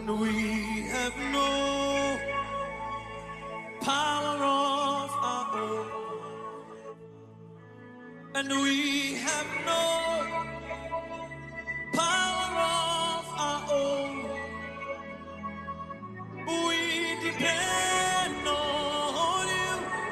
And we have no power of our own. And we have no power of our own. We depend on you,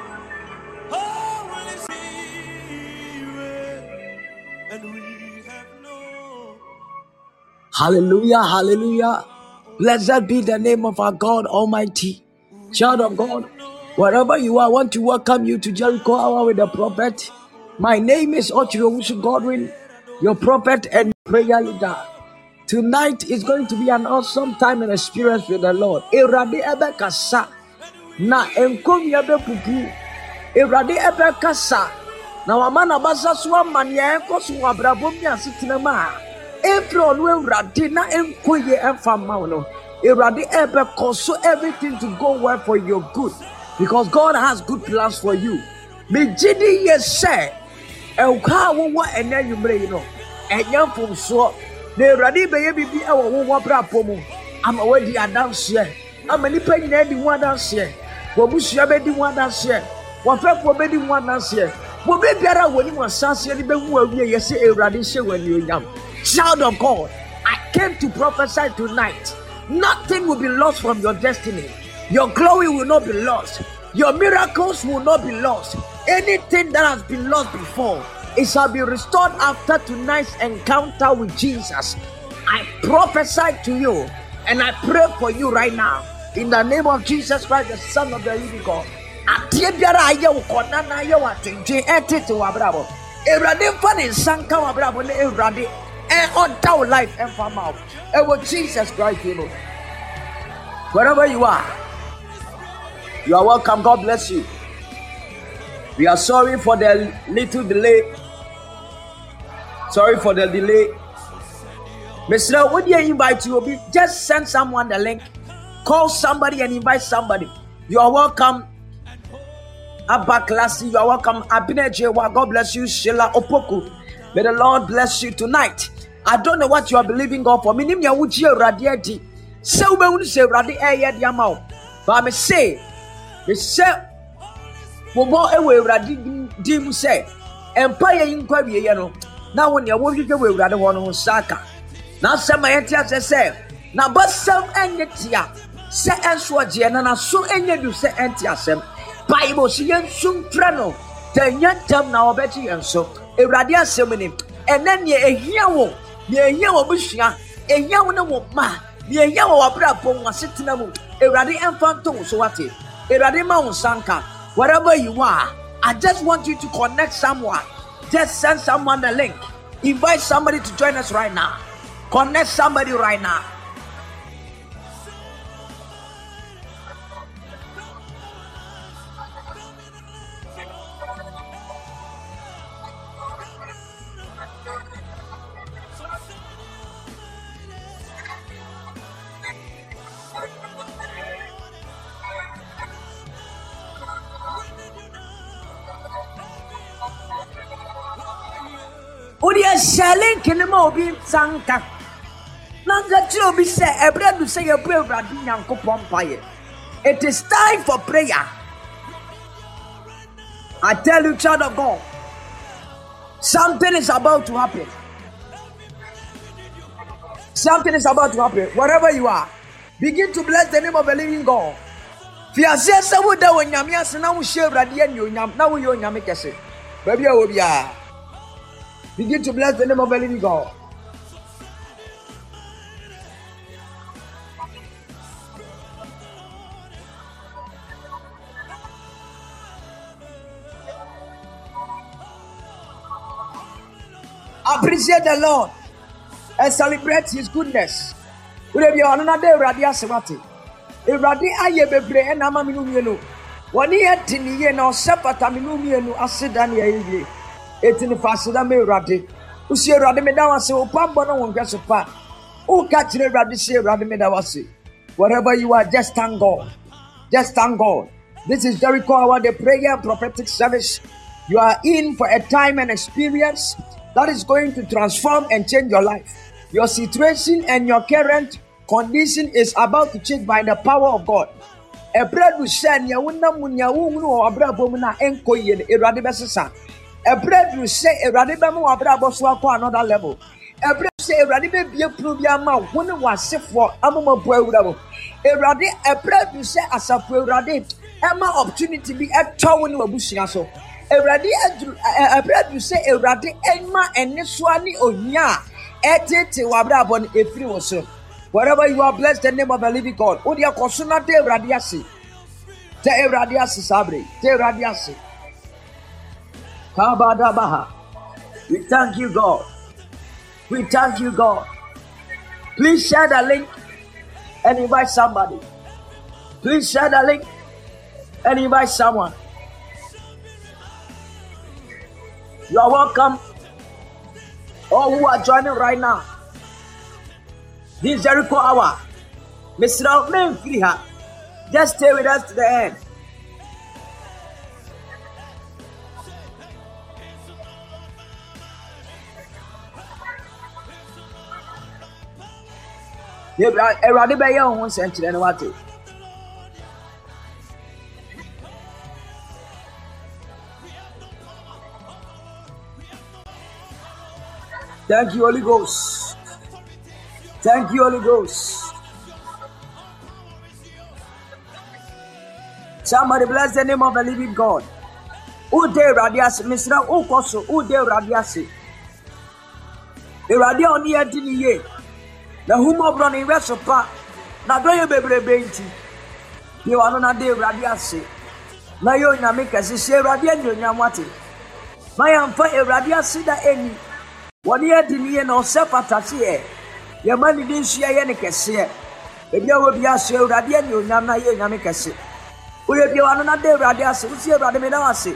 Holy Spirit. And we have no. Hallelujah, hallelujah. Blessed be the name of our God Almighty. Child of God, wherever you are, I want to welcome you to Jericho Hour with the prophet. My name is Ochirowusu Godwin, your prophet and prayer leader. Tonight is going to be an awesome time and experience with the Lord. Erade ebe kasa na enkomi ebe pupu. Erade ebe kasa na wamana basa suwa manya enko suwa brabomni asitina ma. April no Erade na enkoye enfama no. Erade ebe koso everything to go well for your good, because God has good plans for you. Me jidi yese elka wo ene yumre you know. Enya fomso na Erade be ye bibi e wo brapo mu. Ama wadi adanse. Ama nipa nyina di ho adanse. Wo busua be di ho adanse. Wo fefo be di ho adanse. Wo be biara woni mo sanse ni be hu awie yese Erade hye wani onyam. Child of God, I came to prophesy tonight. Nothing will be lost from your destiny. Your glory will not be lost. Your miracles will not be lost. Anything that has been lost before, it shall be restored after tonight's encounter with Jesus. I prophesy to you and I pray for you right now in the name of Jesus Christ, the Son of the living God. And on down life and from out. And with Jesus Christ, you know. Wherever you are welcome. God bless you. We are sorry for the little delay. Sorry for the delay. Mr. Would you invite you? Just send someone the link. Call somebody and invite somebody. You are welcome. Abba Classy, you are welcome. Abinejewa, God bless you. Sheila Opoku, may the Lord bless you tonight. I don't know what you are believing God for. Minim ya wuji radiati. Se ube unu se radi eye di amao. But me say wobo ewe radi di mu se empire yinkwa wiye no. Na won ya wo hwehwe we radi ho no saka. Na sema yetia se na basam enye tia. Se enso je na so enye du se enti asem. Bible si yensum frano. Tanya tam na obeti yenso. Ewrade asem ni. Ene ne ehia wo. Ne ehia wo busua. Ehia wo ne wo ma. Ne ehia wo abra pon wasetena mu. Ewrade emfanto so wate. Ewrade ma wo sanka. Wherever you are, I just want you to connect someone. Just send someone the link. Invite somebody to join us right now. Connect somebody right now. Udia selling kinema obi sanka. Nanga ti obi say ebredu say your prayer bradu nyankopon paye. It is time for prayer. I tell you, child of God, something is about to happen. Something is about to happen. Wherever you are, begin to bless the name of the living God. Fiase se wo da wonyame ase na wo hye brade ani onyam na wo ye onyame kese. Baby a wo bia. Begin to bless the name of the living God. Appreciate the Lord and celebrate His goodness. We be on another radio semati. Erade aye bebre e na ma minu mienu. Woni etini ye na osepata minu mienu aseda na ye. Etini fasida me erade. Usi erade me da wase opambo na wonhwe so pa. O ka kire erade se erade me da wase. Wherever you are, just thank God. Just thank God. This is Jericho Hour, the prayer and prophetic service. You are in for a time and experience that is going to transform and change your life, your situation and your current condition is about to change by the power of God. A bread will shine ya wuna munya wunu or abrabomuna enko yen eradibesisa. A bread will say eradibemu abraboswa ko another level. A bread say eradibe be probia ma wunu was for amamo boy. A bread will say as a eradi Emma opportunity be a town in Wabushia so. A bread will say eradi Emma and Niswani onya etete wabrabon efri woso. Wherever you are, bless the name of the living God. Odia kosuna te radiasi. Te radiasi sabre. Te radiasi. Kabadabaha. We thank you, God. We thank you, God. Please share the link and invite somebody. Please share the link and invite someone. You are welcome. All who are joining right now. This Jericho hour. Mr. Menfriha. Just stay with us to the end. Thank you, Holy Ghost. Thank you, Holy Ghost. Somebody bless the name of the living God. Ude radiasi, Mr. Ukoso, Ude radiasi. Iradia oni edini ye. Na humo broni wesopa. Na doye bebre benti. Ye wano na de radiasi. Na yo nyame kesi se radia nyo nyamwate. Ma yamfa radiasi da eni. Wani edini ye na osepatasi ye. Ye mani dinsu ye ne kese. Ebia wo bia se radia nyo nyama ye nyame kese. Uye bia wano na de radiasi. Usi radia me na wase.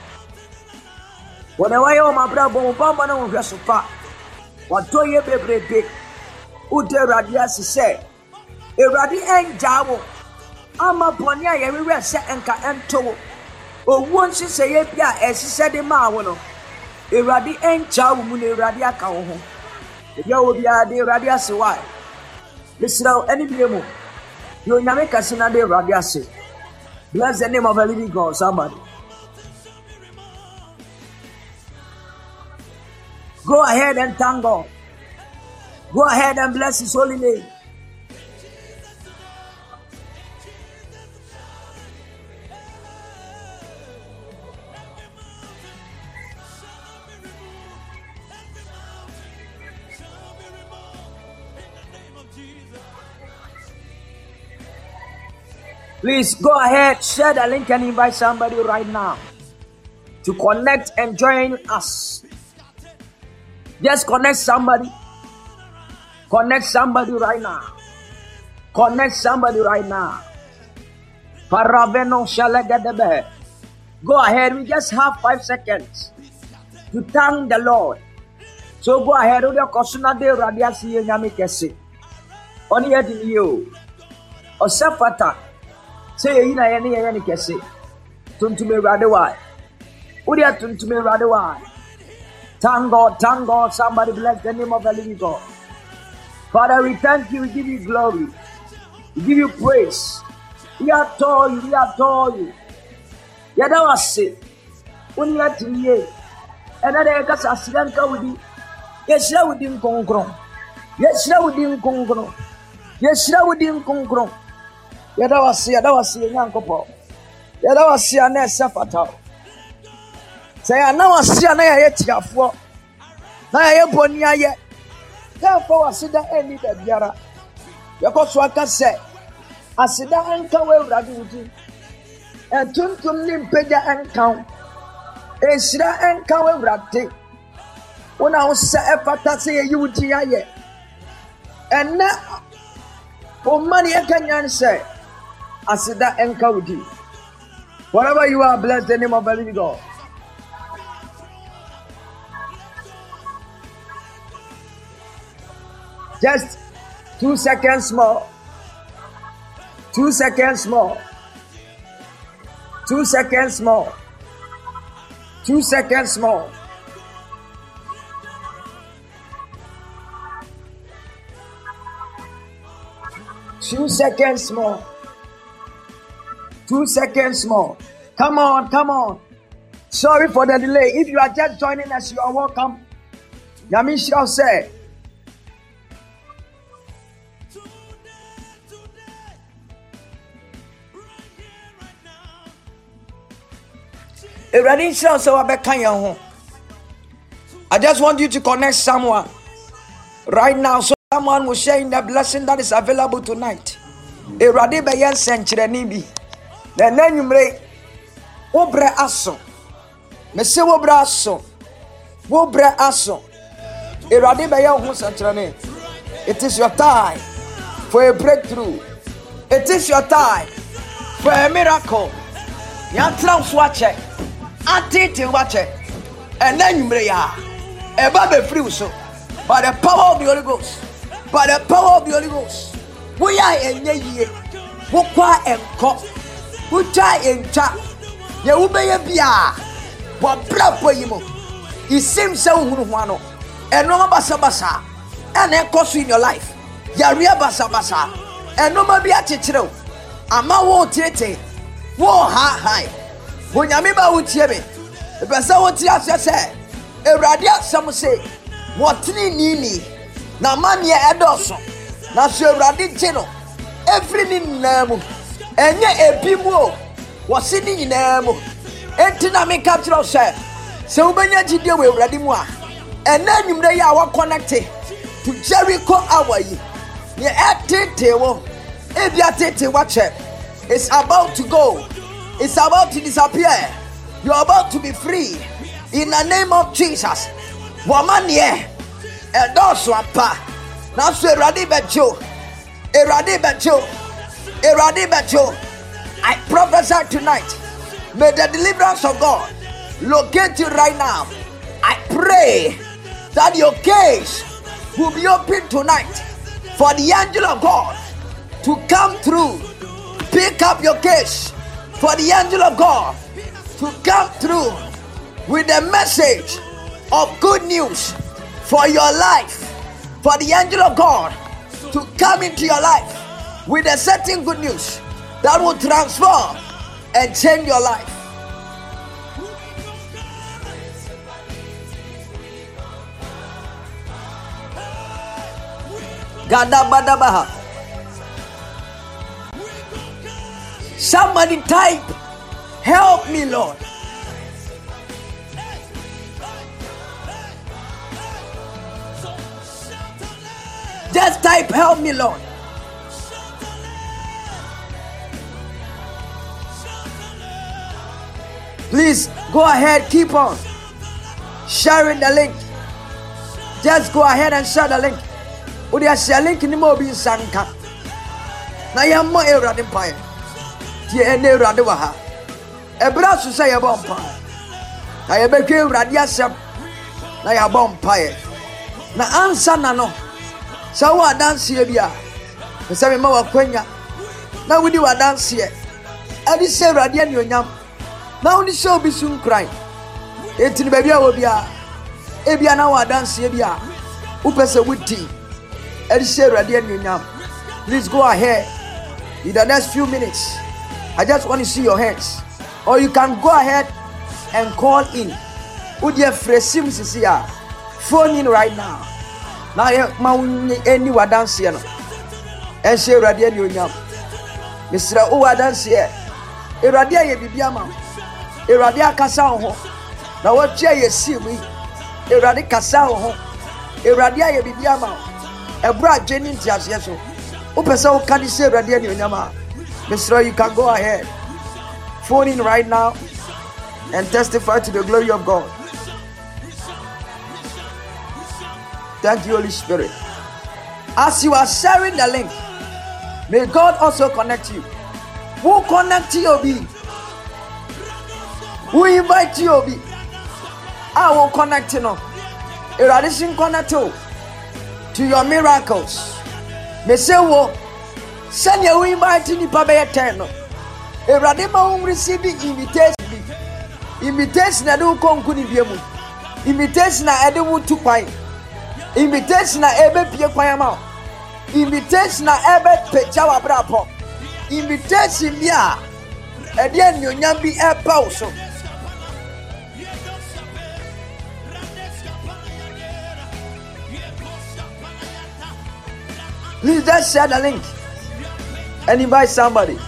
Wane waye o mabra bo mbamba na wesopa. Watoye bebrebe ude radiasi se eradi enjawo ama boni aye wewe se enka ento owo nsise ye bia esise de ma wo no eradi enjawo mu na eradi aka wo ho ebia wo bia de radiasi why lisra any biemu yo nyame kasina de radiasi. Bless the name of the living God. Somebody go ahead and thank God. Go ahead and bless His holy name. Please go ahead, share the link and invite somebody right now to connect and join us. Just connect somebody. Connect somebody right now. Connect somebody right now. Paraveno shalagadebe. Go ahead. We just have 5 seconds to thank the Lord. So go ahead. Odia kosuna de radiasi ye nyame kese. Oni yedi yo. Osefata. Say ye na ye ne kese. Tuntume radewa. Odia tuntume radewa. Thank God, thank God. Somebody bless the name of the living God. Father, we thank you, we give you glory, we give you praise. We adore you, we adore you. Yada wase, uni atiye. Another kasa asidanka wudi. Yeshira wudi nkongron. Yeshira wudi nkongron. Yeshira wudi nkongron. Yada wase nyankopo. Yada wase ane sefata. Say ana wase ana ya tiafo. Na ya boni aye. Therefore, asida eni bebiara. Yakoso aka se asida anka we urade wuti. Entuntum ni mpeja anka. Esira anka we urade. Una usa efata se ye wuti aye. Ena o mani ekanyan se asida anka wuti. Wherever you are, bless the name of the living God. Just 2 seconds more. 2 seconds more. 2 seconds more. 2 seconds more. 2 seconds more. 2 seconds more. Come on, come on. Sorry for the delay. If you are just joining us, you are welcome. Yamisha said, I just want you to connect someone right now, so someone will share in the blessing that is available tonight. Erade beyen senchireni bi. Na nanwumre wobre aso. Mese wobre aso. Wobre aso. Erade beyen ho senchireni. It is your time for a breakthrough. It is your time for a miracle. Yantra uswache. Atete wache. And nanwumre ya. Eba be free so. By the power of the Holy Ghost. By the power of the Holy Ghost. We are in ye. Wokwa enko. Ucha encha. Ye ubeye bia. Wa brapo yimo. Isim se uhunu hwano. Enoma basa basa. Ene enkosu in your life. Yaria basa basa. Enoma bia chichiro. Ama wo tete. Wo ha. Wonyame ba utiebe. Ebesa wo ti asese. Ewrade asem se. Wotini nini na manie edoso na so Ewrade gino every ni namu enye ebimu o wosi ni namu enti na me capture se ubenya gidie we Ewrade mu a ena nwumre ya wa connect to Jericho hour yi ye etete wo ebia tete wache. It's about to go, it's about to disappear. You're about to be free in the name of Jesus. Woman ye edoso apa na so Ewrade bejo I prophesy tonight, may the deliverance of God locate you right now. I pray that your case will be open tonight for the angel of God to come through. Pick up your case for the angel of God to come through with a message of good news for your life, for the angel of God to come into your life with a certain good news that will transform and change your life. Gadabadabaha. Somebody type, help me, Lord. Just type, help me, Lord. Please go ahead, keep on sharing the link. Just go ahead and share the link. Would you share link in the mobile sanka? Na yammo Ewrade mpae. Tie ene Ewrade wa ha. Ebra so say yabom mpae. Na yebekwe Ewrade asem. Na yabom mpae. Na ansa na no. Sa wa dance ye bia. Se me ma wa kwanya. Na wudi wa dance ye. Adi se Ewrade ani onyam. Na wudi se obi sun cry. Etini ba bia wo bia. E bia na wa dance ye bia. Upese wudi. Please go ahead in the next few minutes. I just want to see your hands, or you can go ahead and call in. Phone in right now. Now any wa dance here, and say Ewrade ni onyam. Mr. O dance here. Ewrade ye bibia ma. Ewrade akasa ho. Na wo tia ye si mi. Ewrade kasa ho. Ewrade ye bibia ma. Ebra Jenny Tiasyeso. Upesa ukani se Ewrade ani onyama. Mr. You can go ahead. Phone in right now and testify to the glory of God. Thank you, Holy Spirit. As you are sharing the link, may God also connect you. Who connect you be? Who invite you be? I will connect you now. Ewrade connect you to your miracles. Me say wo send you invite ni pa be 10 no. Ewrade ma won receive invitation. Invitation na do konku ni biemu. Invitation na ede wo tu kwan. Invitation na ebe pie kwan ma. Invitation na ebe pecha wa brapo. Invitation bia e de anuonyam bi e pa wo so. Please just share the link and invite somebody.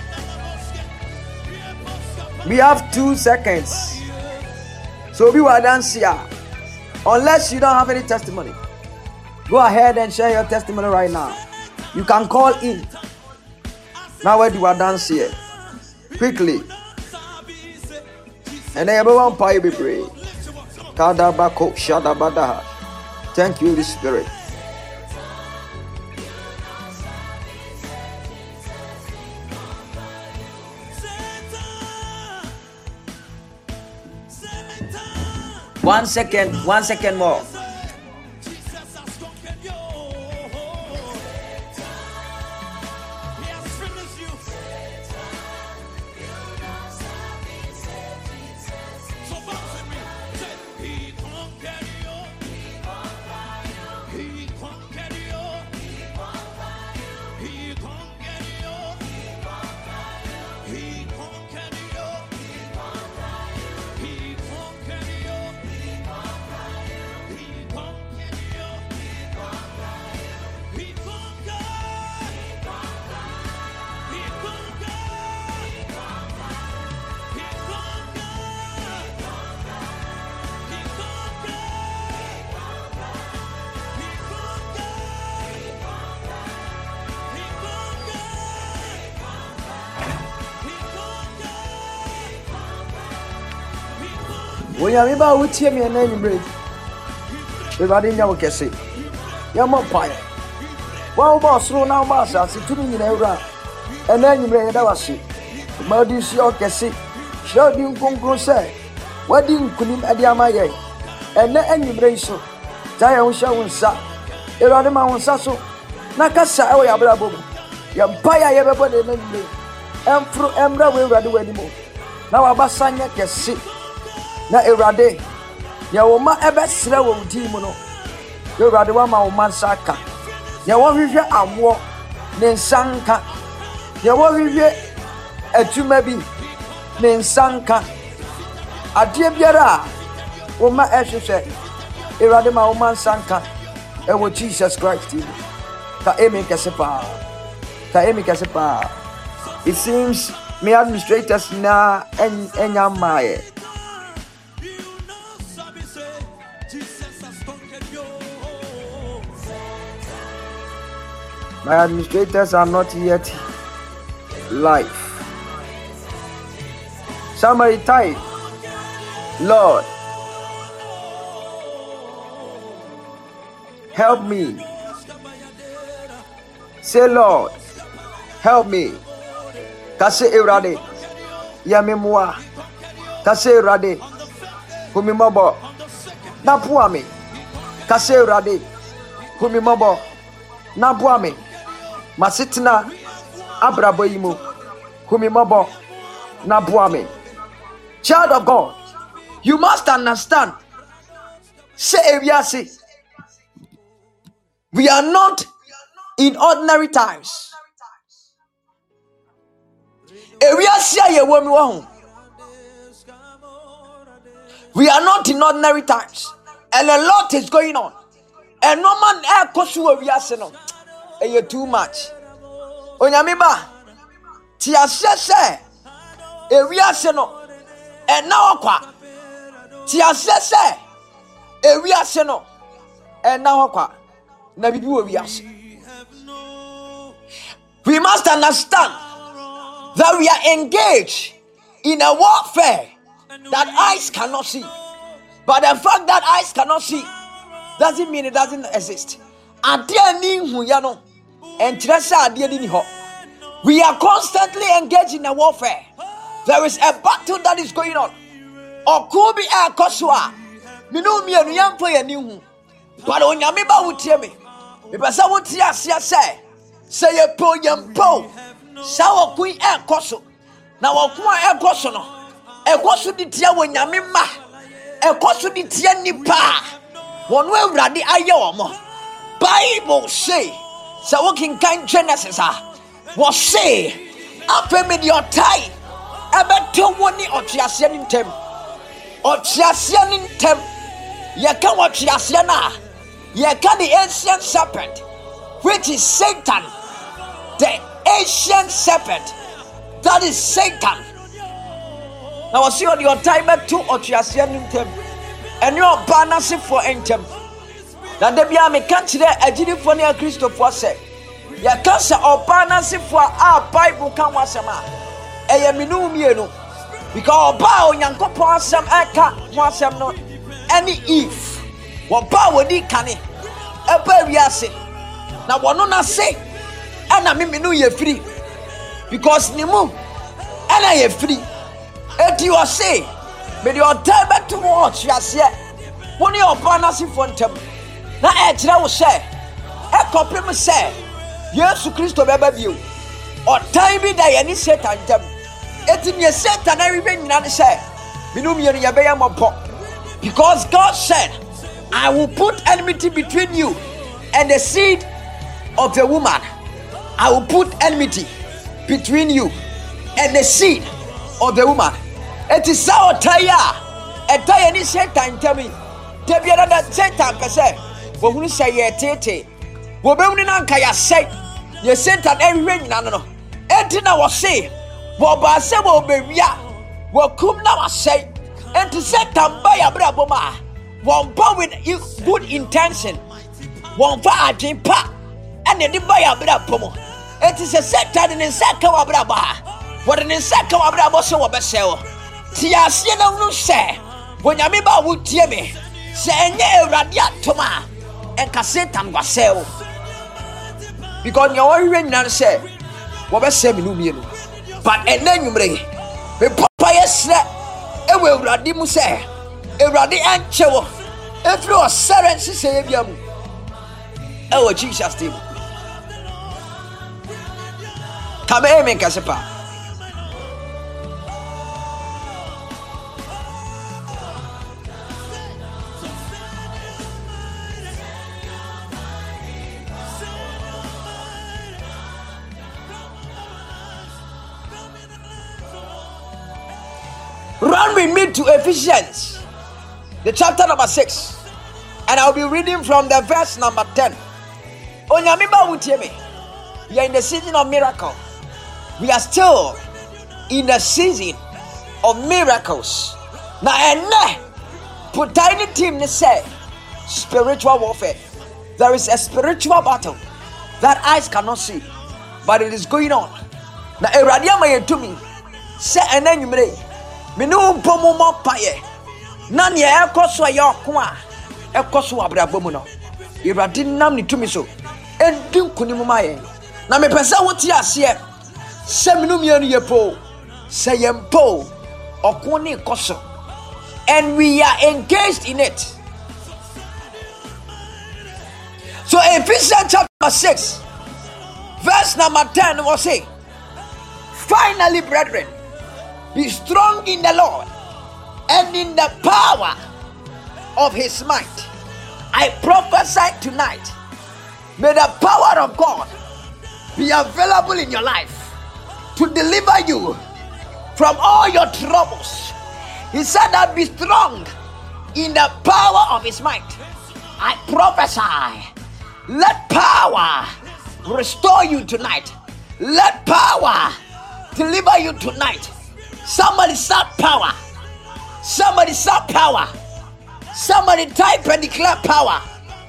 We have 2 seconds. So we will dance here. Unless you don't have any testimony, go ahead and share your testimony right now. You can call in. Now where do I dance here? Quickly. And then everyone pray be pray. Kadabako shadabadaha. Thank you, Holy Spirit. One second more. When you are with him and then you break. Everybody know what you say. You're more fire. One boss, slow now, master, sit to me in a round. And then you break that was it. But you see, okay, see. Show you come say. What do you couldn't at the Amaya? And then you break so. Tire show and sat. Eradima on Sasso. Nakasa, oh, Yabrabo. Yampire, everybody, and through Embra will run away anymore. Now Abasanya can sit. Na Erade, ya woma ebe sre wo di mu no. Erade wa ma wo mansaka. Ya wo hwehwe awo ne nsanka. Ya wo hwehwe atuma bi ne nsanka. Ade biara wo ma ehwehwe. Erade ma wo mansanka. E wo Jesus Christ. Ka emi kesepa. Ka emi kesepa. It seems me administrators na enya maye. My administrators are not yet live. Somebody type, Lord, help me. Say, Lord, help me. Kase Erade, Yamemwa. Kase Erade, Humimobo. Napuame. Kase Erade, Humimobo. Napuame. Masitina Abraboimo, Humimobo, Nabuame. Child of God, you must understand. Say we are not in ordinary times. We are not in ordinary times, and a lot is going on. And no man air kosu no. You too much. Onyamiba, tia sese, ewiase no, ena okwa. Tia sese, ewiase no, ena okwa. Na bibi ewiase. We must understand that we are engaged in a warfare that eyes cannot see. But the fact that eyes cannot see doesn't mean it doesn't exist. We are constantly engaged in a warfare. There is a battle that is going on. Okubi e koswa. Minu mienu yampo ye nihu. But onyamiba wutiemi. Mipasa wuti asia se ye po yampo. Sa okui e koso. Na wakuma e koso no. E koso di tia wonyamima. E koso di tia nipa. Wonwe uradi aye omo. Bible say So walking kind Genesis was say after me your tie about 2 or Chiasian tem or Chiasian tem. You can watch Chiasiana. You can the ancient serpent, which is Satan, the ancient serpent. That is Satan. Now I see on your time at 2 or Chiasian tem, and your banner for entem. Now the Biame can't there a Gilifonia Christopher said. Ya cancer or banner for our Bible can was a man. A minum because bow Yankopo some aka was some not any if. What power di canny? A baby assay. Now, what not say? And I mean, you free because Nimu and I am free. And you are say, but you are time back to watch. Yes, yet. One your partners in front of now, I will say, a compliment say, yes, to Christo baby you or time be die any Satan. It is me Satan. I remain not say, Minum Yabayam because God said, I will put enmity between you and the seed of the woman. I will put enmity between you and the seed of the woman. It is our tire. A tire any Satan tell me. Tell me that Satan per se. But who say ye tete? Women kaya say ye Satan everywhere no. Entina was say. Boba say wo be ya. Wo kum na was say. And to Satan buy a braboma. One power with good intention. One fire dream pa. And then buy a brabomo. It is a Satan in Saka Braba. What an insect of Brabo so Bessel. Tia Siena no say. When Yamiba would tear me. Say ne radiatoma. And Cassetam was sell. Because your own nan say. What was 7 million. But and then you bring. The papaya slap. It will radimu say. Eradi anchewo efri osare nsise ebiam ewo Jesus name kame amen kasepa run with me to Ephesians the chapter number 6, and I'll be reading from the verse number 10. Onyamiba Wutiemi, we are in the season of miracle. We are still in the season of miracles. Now, and put tiny team to say spiritual warfare. There is a spiritual battle that eyes cannot see, but it is going on. Now, Eradiama Yetumi say, and then you may Minu Pomo Paye. Nani ekoso ayoko a ekoso abrabom no Irade nam ni tumi so endin kunimu maye na me pese woti ase se minum ye no yepo se yempo okoni koso and we are engaged in it. So Ephesians chapter 6 verse number 10 will say, finally brethren, be strong in the Lord and in the power of his might. I prophesy tonight, may the power of God be available in your life to deliver you from all your troubles. He said that be strong in the power of his might. I prophesy, let power restore you tonight. Let power deliver you tonight. Somebody shout power. Somebody shout power. Somebody type and declare power.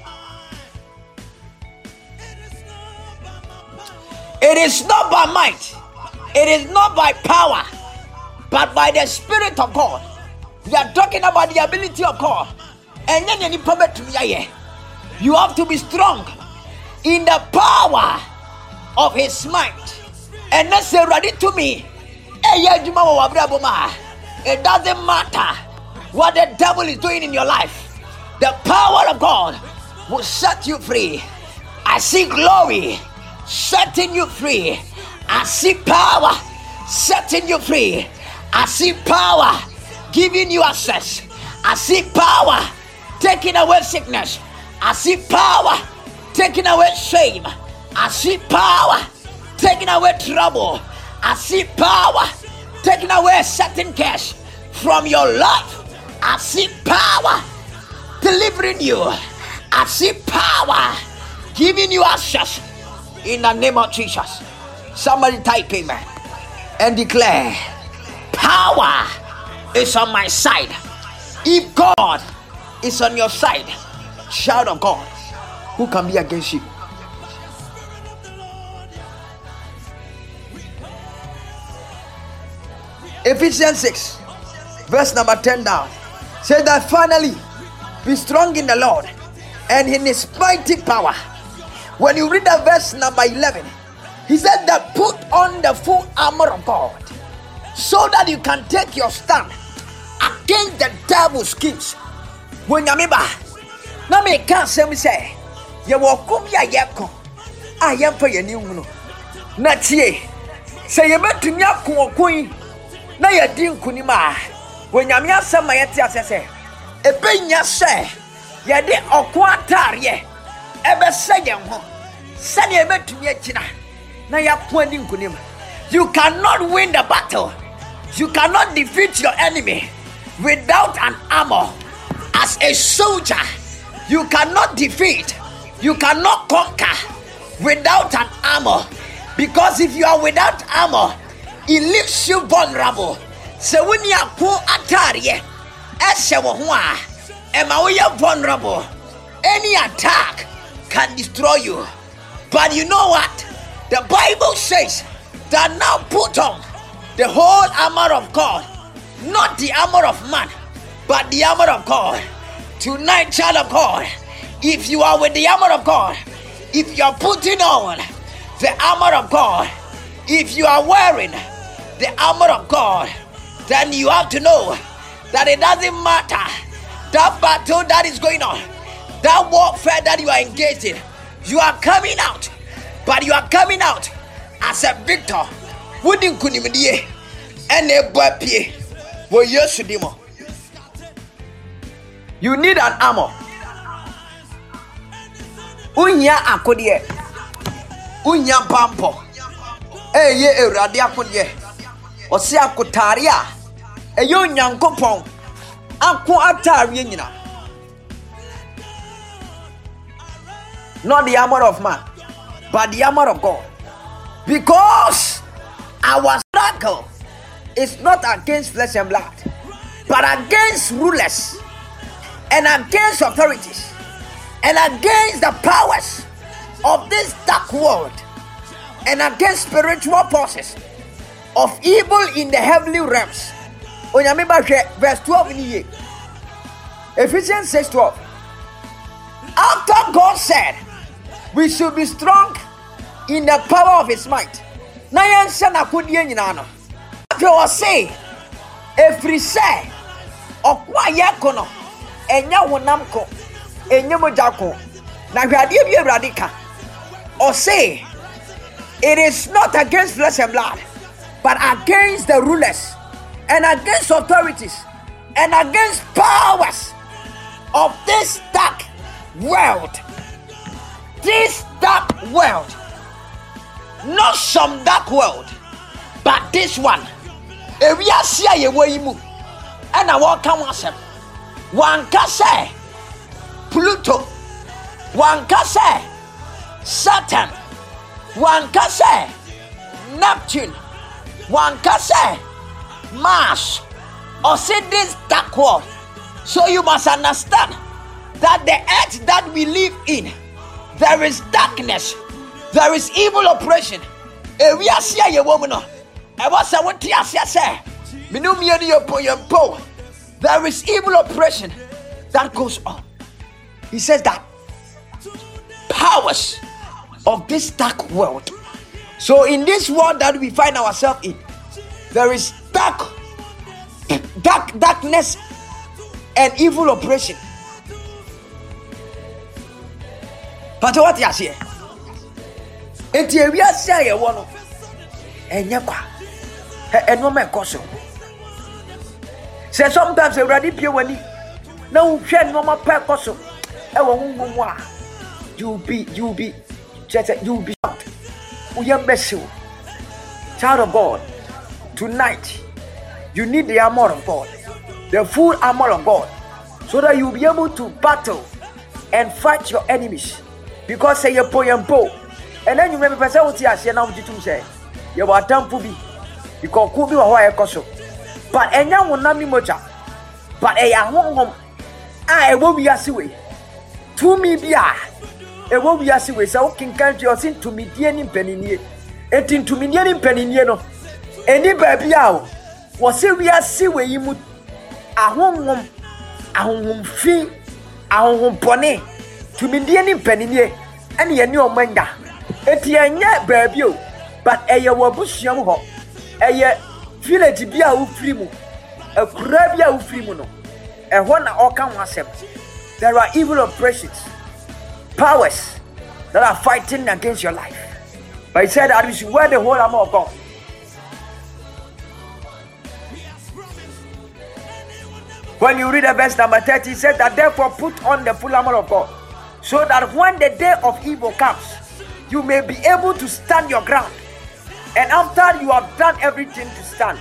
It is not by might, it is not by power, but by the Spirit of God. We are talking about the ability of God. And then you have to be strong in the power of his might. And that's ready to me. It doesn't matter what the devil is doing in your life. The power of God will set you free. I see glory setting you free. I see power setting you free. I see power giving you access. I see power taking away sickness. I see power taking away shame. I see power taking away trouble. I see power taking away a certain curse from your life. I see power delivering you. I see power giving you access in the name of Jesus. Somebody type amen and declare, power is on my side. If God is on your side, child of God, who can be against you? Ephesians 6 verse number 10 down says that finally be strong in the Lord and in his mighty power. When you read the verse number 11, he said that put on the full armor of God so that you can take your stand against the devil's schemes. When you remember, now me can't say you walk come ya yako I am for your new not ye say you met to nyako queen na ya din kunima when you mean some my say a benya say ya de okwantarie ebe say yan ho sani e metumi akina na ya kwani kunima. You cannot win the battle, you cannot defeat your enemy without an armor. As a soldier, you cannot defeat, you cannot conquer without an armor, because if you are without armor, it leaves you vulnerable. So when you are poor atarie, vulnerable. Any attack can destroy you. But you know what? The Bible says that now put on the whole armor of God, not the armor of man, but the armor of God. Tonight, child of God, if you are with the armor of God, if you are putting on the armor of God, if you are wearing the armor of God, then you have to know that it doesn't matter that battle that is going on, that warfare that you are engaged in, you are coming out, but you are coming out as a victor. Wouldn't kunimidie and a bapie will use demo. You need an armor. Unya akodie. Unya pampo. Ye erade akodie. Ose akotaria. Eyo nyankopon. Akwo atare nyina. Not the armor of man, but the armor of God. Because our struggle is not against flesh and blood, but against rulers and against authorities and against the powers of this dark world and against spiritual forces of evil in the heavenly realms. Verse 12 in here. Ephesians 6:12. After God said we should be strong in the power of his might. After I say, every say, Okwayakono, Enya Wonamko, Enya Mojako, Nagadia Radika, or say, it is not against flesh and blood, but against the rulers and against authorities and against powers of this dark world. This dark world, not some dark world, but this one. If we are seeing a way move, and I walk on one can say Pluto, one can say Saturn, one can say Neptune, one can say Mars, or say this dark world. So you must understand that the earth that we live in, there is darkness, there is evil oppression. If we are seeing a woman, I was a what I say. There is evil oppression that goes on. He says that powers of this dark world. So in this world that we find ourselves in, there is darkness and evil oppression. But what you say? If you are saying one, and no man cause say sometimes a ready pure when no share no more purpose. You'll be Child of God, tonight you need the armor of God, the full armor of God, so that you'll be able to battle and fight your enemies. Because say you po, and then you may be person who tears you now to say you are temple be because could be a coso. But and now will not be much, but a home I will be a way to me be a will be a way so can count your sin to me dear penny. And into me near penny no. Any baby out was a real see where you would a home fee, a home pony to me dear penny and ye new manga. Etienne baby, but a year bush young hop, a year village be a frimu, a crabia frimuno, and one or can accept. There are evil oppressions, powers that are fighting against your life. But he said that we should wear the whole armor of God. When you read the verse number 30, he said that therefore put on the full armor of God, so that when the day of evil comes, you may be able to stand your ground. And after you have done everything to stand,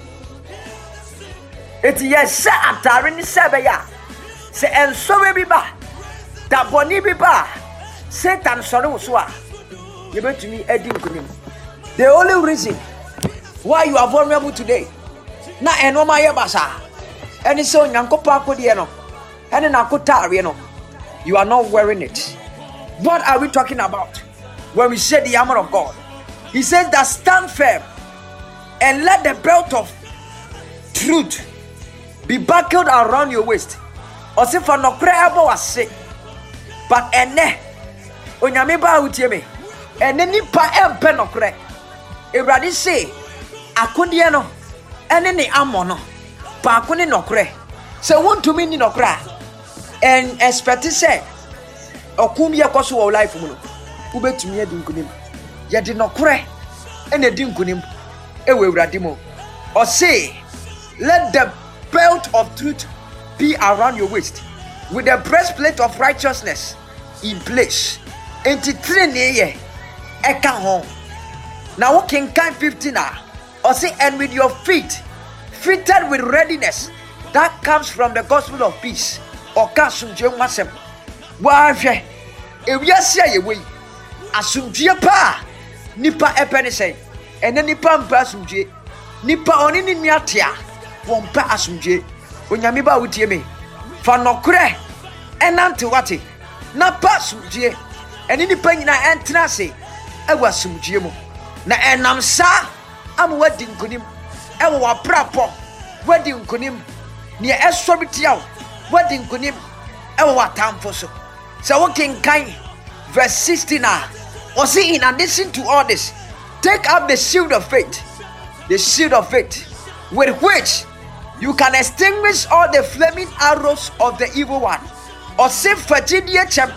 it is say after any sebeya, say and so we be ba, that boni be ba, Satan sonu uswa. You bet to me, the only reason why you are vulnerable today, na enoma yebasa, and so yankopa kodieno, and an akotarieno, you are not wearing it. What are we talking about when we say the armor of God? He says that stand firm and let the belt of truth be buckled around your waist. Or say for no prayer was sick, but ene onyame ba utieme. And then nipa empe no kre Ewurade say akode no ene ne amo no pa akone no kre se wontumi ni no kra and expect say okum ye koso wo life mu no ubetumi edi nkunim ye de no kre ene di nkunim ewe Ewurade mo or say let the belt of truth be around your waist with the breastplate of righteousness in place enti train ye eka home. Now walking kind 15 or say and with your feet fitted with readiness that comes from the gospel of peace or kasumje wasem. Wahwe ewiase ye we asumje pa nipa epene say and nipa mpa asumje nipa oni ni miatia wompa asumje onyame ba wutie me fa nokre enante wate na pa asumje eni nipa nyina entra say awasumjie mu na enam sa am wadi nkunim ewo waprapo wadi nkunim ne esobitiaw wadi nkunim ewo watamfo so so walking kind verse 16 or see in addition to all this take up the shield of faith with which you can extinguish all the flaming arrows of the evil one or say fatidia chem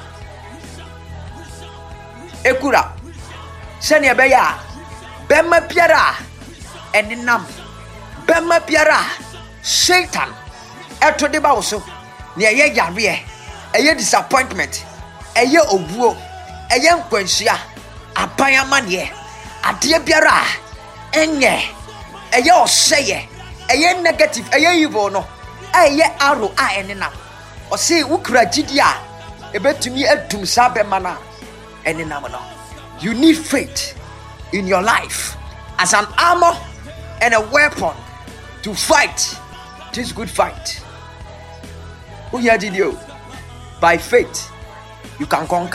ekura Senya beya bema piara eninam bema piara Satan eto de ba wo so ne eye yare eye disappointment eye obuo eye nkwansia aban amane ade biara enye eye oseye eye negative eye evil no eye arrow a eninam o say wukura gidi a ebetumi adum sa bema na eninam no. You need faith in your life as an armor and a weapon to fight this good fight. Who here did you? By faith, you can conquer.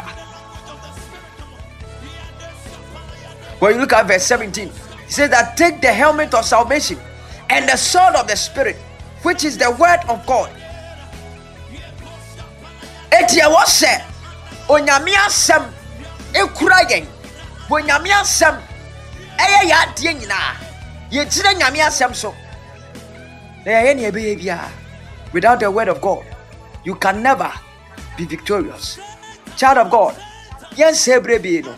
When you look at verse 17, it says that take the helmet of salvation and the sword of the Spirit, which is the word of God. Etia was said, Onyamia sem ekurayen. When Yamia Sam, ya Diana, ye didn't Yamia Sam so. There are any behavior without the word of God, you can never be victorious. Child of God, yes, Hebrew,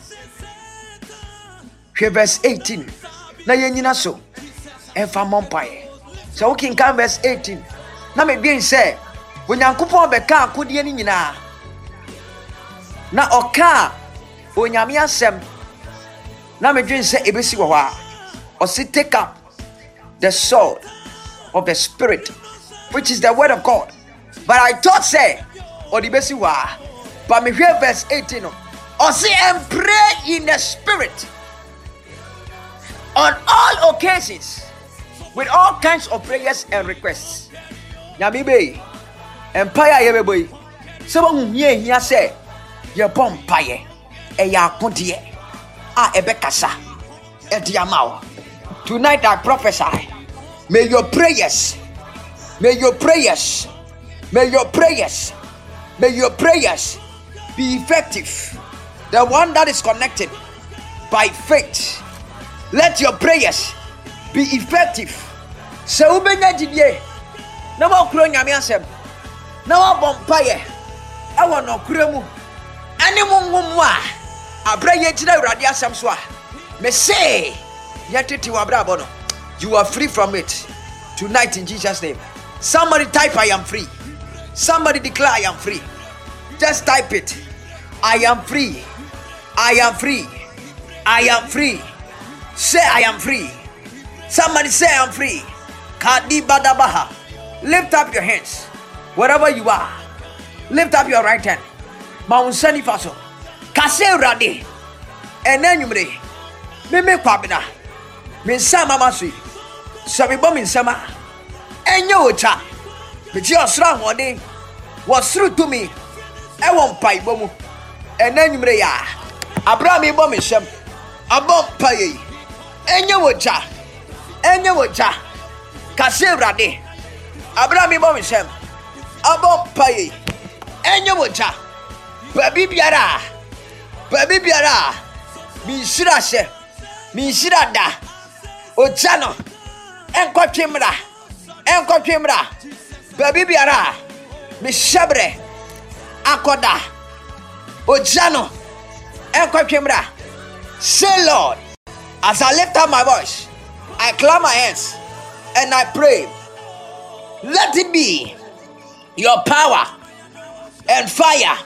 verse 18. Na yenina so, and for Mompire. So, King Can verse 18. Now, me being said, when Yankupon Beka could ye na. Na oka, when Yamia Sam. na me dwen say ebesi wo ha or say take up the sword of the spirit, which is the word of God. But I thought say or the besi wa, but me hear verse 18 or say and pray in the spirit on all occasions with all kinds of prayers and requests. Nyame be empire ye boy. So won here say ye bom paye e ya akode a ebekasa e dia mawo. Tonight I prophesy, may your prayers be effective. The one that is connected by faith, let your prayers be effective. So ubenya jidie na wa kuro nyame asem na wa bompaye e wono kuro mu ani mungumu a abraye jira urade asem so a me say yetete wa bra bono. You are free from it tonight in Jesus' name. Somebody type I am free. Somebody declare I am free. Just type it. I am free. I am free. I am free. Say I am free. Somebody say I am free. Kadi badabaha. Lift up your hands. Wherever you are. Lift up your right hand. Maunsani faso. Kase rade. Enanyumre. Meme kwabina. Minsama masui. Sabibo minsama. Enyo ocha. Meji osra hode. Wasru to me. Ewon paibo mu. Enanyumre ya. Abraham ibo minsam. Abom paye. Enyo ocha. Enyo ocha. Kase rade. Abraham ibo minsam. Abom paye. Enyo ocha. Baby biara. Minshira she. Minshira da. Ojano. Enkotwemra. Baby biara. Mishabre. Akoda. Ojano. Enkotwemra. Say Lord, as I lift up my voice, I clap my hands and I pray. Let it be your power and fire.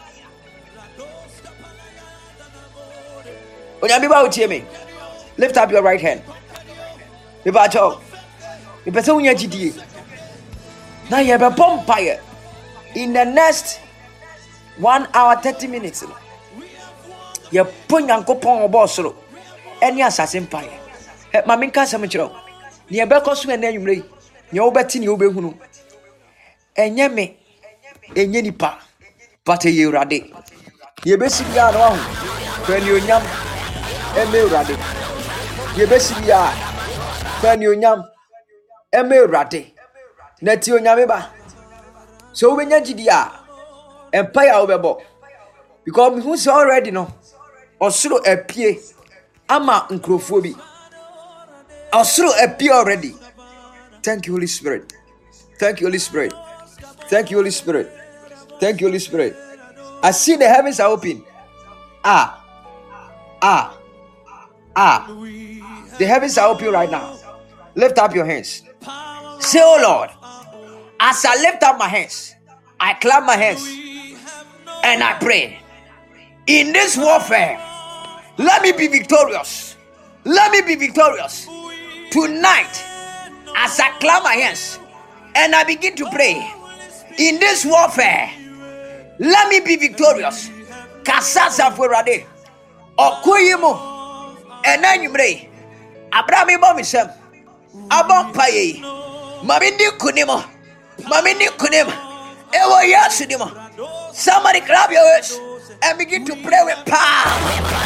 Onyamiba utie me. Lift up your right hand. Ibacho. Ipese unya jidie. Na ye be bompire in the next 1 hour 30 minutes. Ye ponyankopon obosoro. Eni asase mpaye. Ma menka sam kiro. Ne ye be koso na anwumre. Ne wo beti ne wo behunu. Enye me. Enye nipa. But ye urade. Ye be sibia no ahu. Fani onyam. Eme urade. Ye be sibia. Fani onyam. Eme urade. Na ti onyame ba. So we nya gidi a empire wo bebo. Because me who say already no. Osuro apie ama nkrofo bi. Osuro apie already. Thank you, Holy Spirit. Thank you, Holy Spirit. Thank you, Holy Spirit. Thank you, Holy Spirit. I see the heavens are open. The heavens are open right now. Lift up your hands. Say, oh Lord, as I lift up my hands, I clap my hands and I pray. In this warfare, let me be victorious. Let me be victorious. Tonight, as I clap my hands and I begin to pray, in this warfare, let me be victorious. Kasasa furade. Okuyimo. Enanyumre. Abraham ibomisem. Abom paye. Mamindi kunimo. Ewo yasunimo. Somebody clap your hands and begin to pray with power.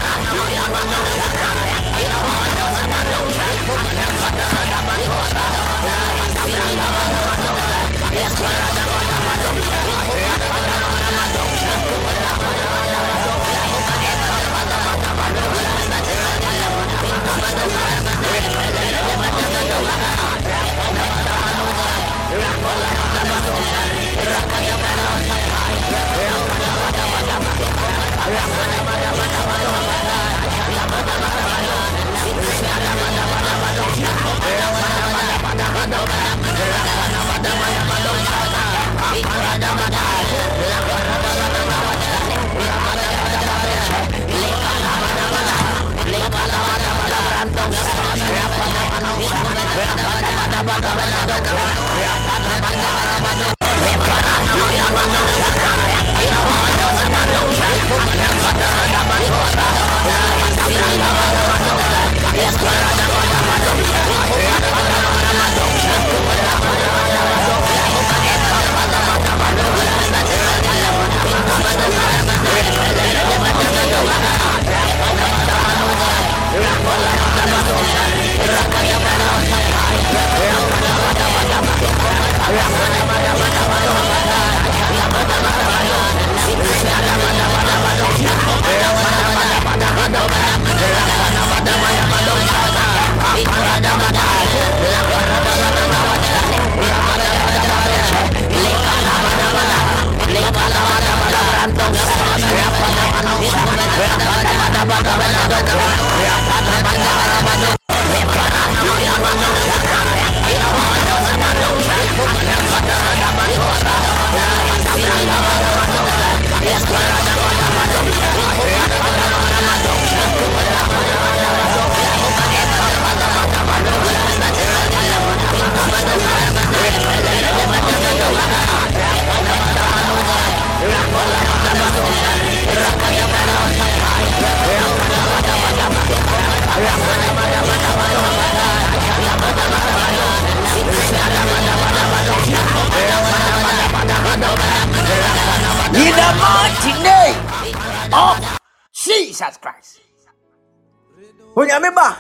In the mighty name of Jesus Christ. Onyameba.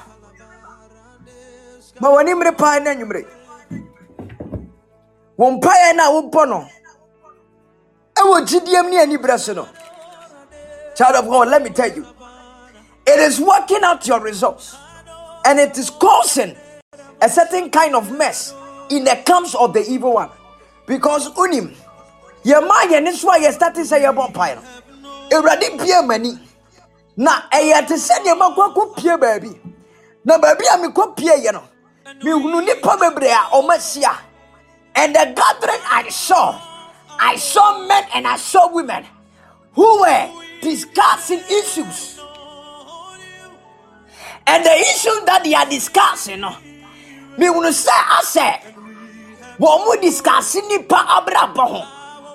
Ma wani mre pa na nyumre. Won pa ya na wo pono. E wo gidiem ne ani braso no. Child of God, let me tell you. It is working out your results. And it is causing a certain kind of mess in the camps of the evil one. Because unim your mind and this why you start to say your vampire. Already peer money. Na to send your man peer baby. Na baby I'm peer you know. Me unu probably or messia. And the gathering I saw men and I saw women who were discussing issues. And the issue that they are discussing, me unu say I say, what we discussing ni pa abrabo.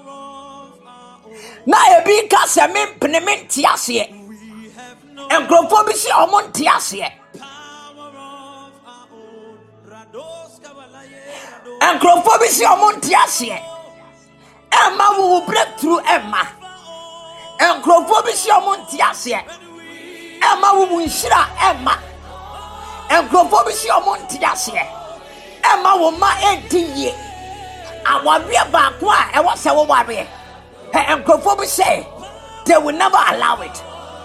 Na ebi ka se me pnemen tiase enkrofo bi si omon tiase enkrofo bi si omon tiase emma wo breakthrough emma enkrofo bi si omon tiase emma wo nhira emma enkrofo bi si omon tiase emma wo ma entiye awabe ba ko a e wo se wo wabe. And Crawford say they will never allow it.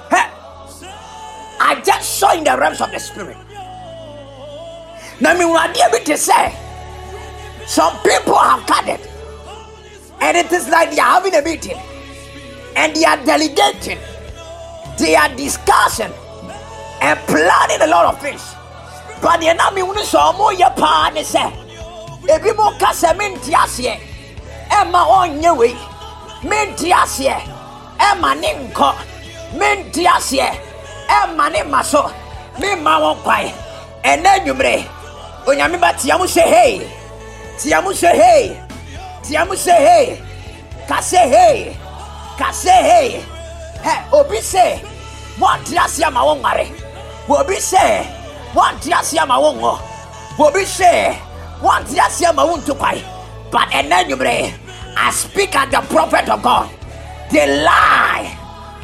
I just saw in the realms of the spirit. Now, me want to say some people have gathered, and it is like they are having a meeting, and they are delegating, they are discussing and planning a lot of things. But the enemy will show more your partner say, if you more casamin tiasie, Emma on your way. Mentiasie, Emma Ninko, Mentiasie, Emma Nimaso, Mima won't cry, and then you may. When you remember Tiamu say hey, Tiamu say hey, Tiamu say hey, Kase hey, Kase hey, hey, Obi say, one Tiasia ma won't marry, Obi say, one Tiasia ma won't go, Obi say, one Tiasia ma won't to cry, but and then you may. I speak as the prophet of God. They lie.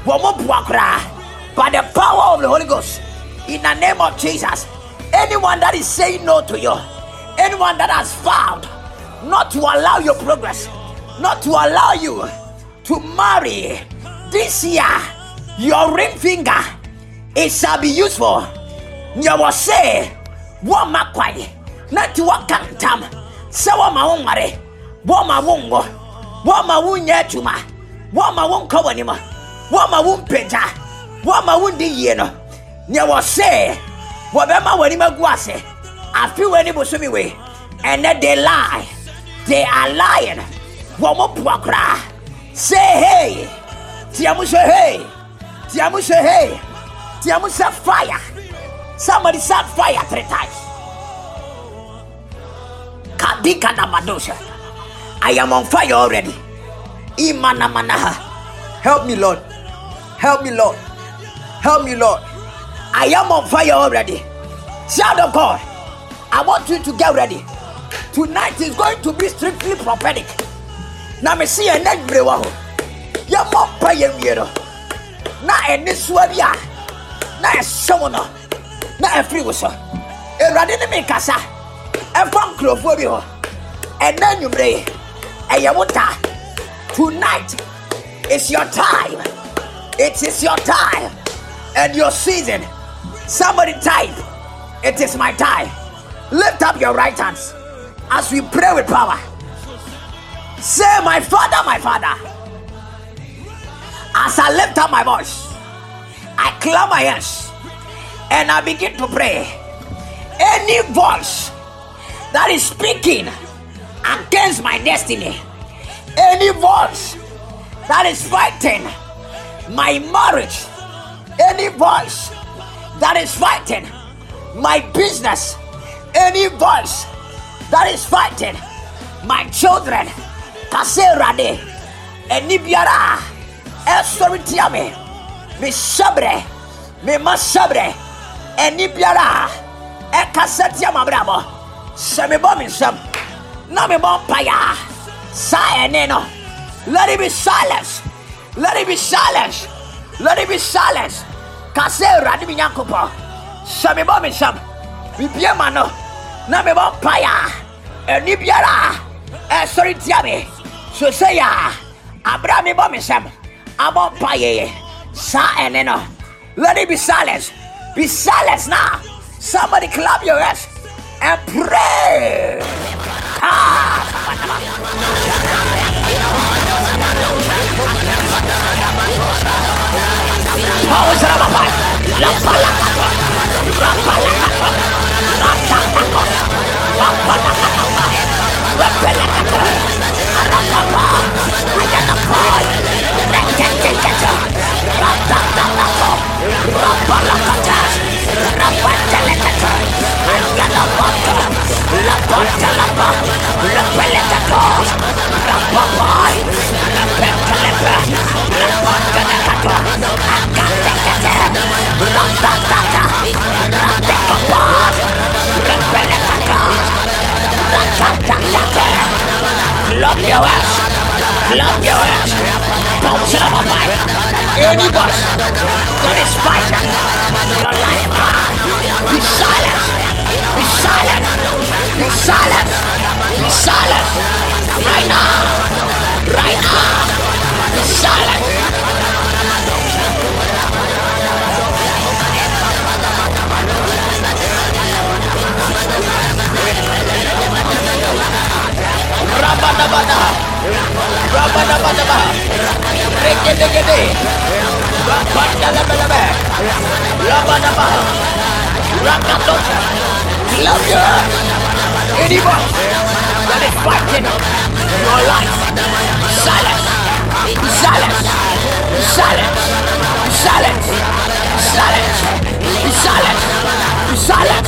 By the power of the Holy Ghost. In the name of Jesus. Anyone that is saying no to you. Anyone that has vowed not to allow your progress. Not to allow you to marry. This year. Your ring finger. It shall be useful. You will say. Wama kwai. Not to walk tam. Sawa maumare. Wama wongo. Wama wunye chuma. Wama wonko wanima. Wama wumpeja. Wama wundi yeno. Nye wase. Wabema wanima guase. I feel any busumi way. And then they lie. They are lying. Wama puakra. Say hey. Tiamu say hey. Tiamu say hey. Tiamu say fire. Somebody set fire 3 times. Adikanamadosha. I am on fire already. Imanamanaha. Help me, Lord. Help me, Lord. Help me, Lord. I am on fire already. Child of God, I want you to get ready. Tonight is going to be strictly prophetic. Now me see a neck brewer. You're more prayer mirror. Now in this one, yeah. Now a summoner. Now a free whistle. A radin casa. A funk club for you. And then you pray. And you want that. Tonight is your time. It is your time and your season. Somebody type, it is my time. Lift up your right hands as we pray with power. Say, my Father, my Father. As I lift up my voice, I clap my hands and I begin to pray. Any voice that is speaking against my destiny, any voice that is fighting my marriage, any voice that is fighting my business, any voice that is fighting my children, Kaserade, Enibiara, Esoritiame, me sabre, me masabre, Enibiara, Ekasetia Mabramo, Semibomism, Namibon Paya, Sayaneno, let it be silence. Let it be silence. Let it be silence. Kasera di minyakupo. Sami bomi sam. Bibia mano. Na me bon paya. Eni biara. Sorry tiame. So say ya. Abrami bomi sam. Abon paye. Sa eneno. Let it be silence. Be silence now. Somebody clap your hands and pray. Love your ass. Love your ass. Bounce it up a fight. Any boss that is fighting your life. Be silent. Be silent. Be silent. Be silent. Right now. Right now. Be silent. Rabadabada, Rabadabadaba, Regedegede, Rabadabadaba, Rabadaba, Rakatota, love you. Anyone that is fighting your life, silence, silence, silence, silence, silence, silence, silence.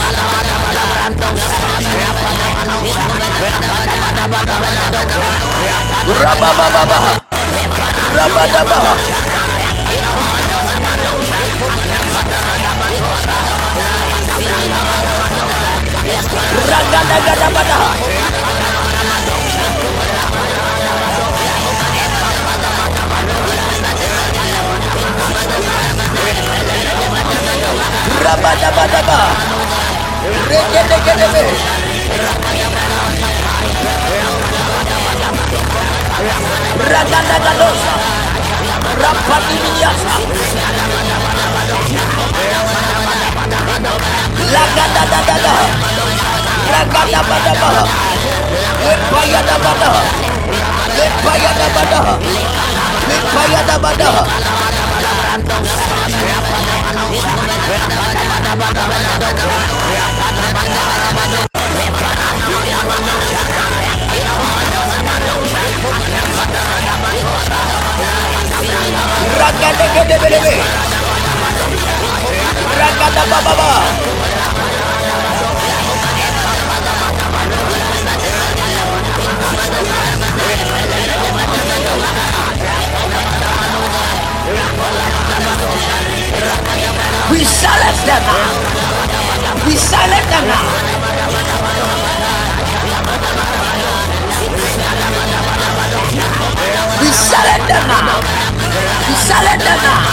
Rabababa, Rabadaba, Ragadagada, Rabadabadaba, Regedegedebe, Ragadagadosa, Rapadimiasa, Lagadadada, Ragadabadaba, Lepayadabada, Lepayadabada, Lepayadabada. Ragadagadagadebe, Ragadabababa, We silence them now. We silence them now. We silence them now. We silence them now.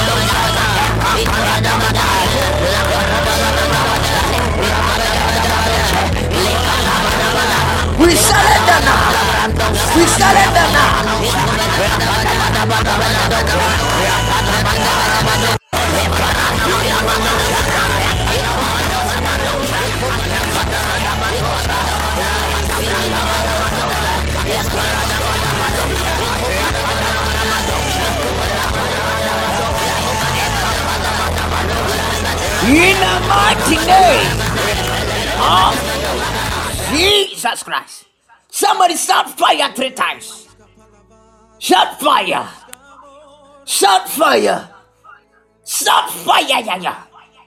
We silence them now. We silence them now. In the mighty name of Jesus Christ. Somebody shout fire 3 times. Shout fire. Shout fire. Shout fire. Yeah, yeah.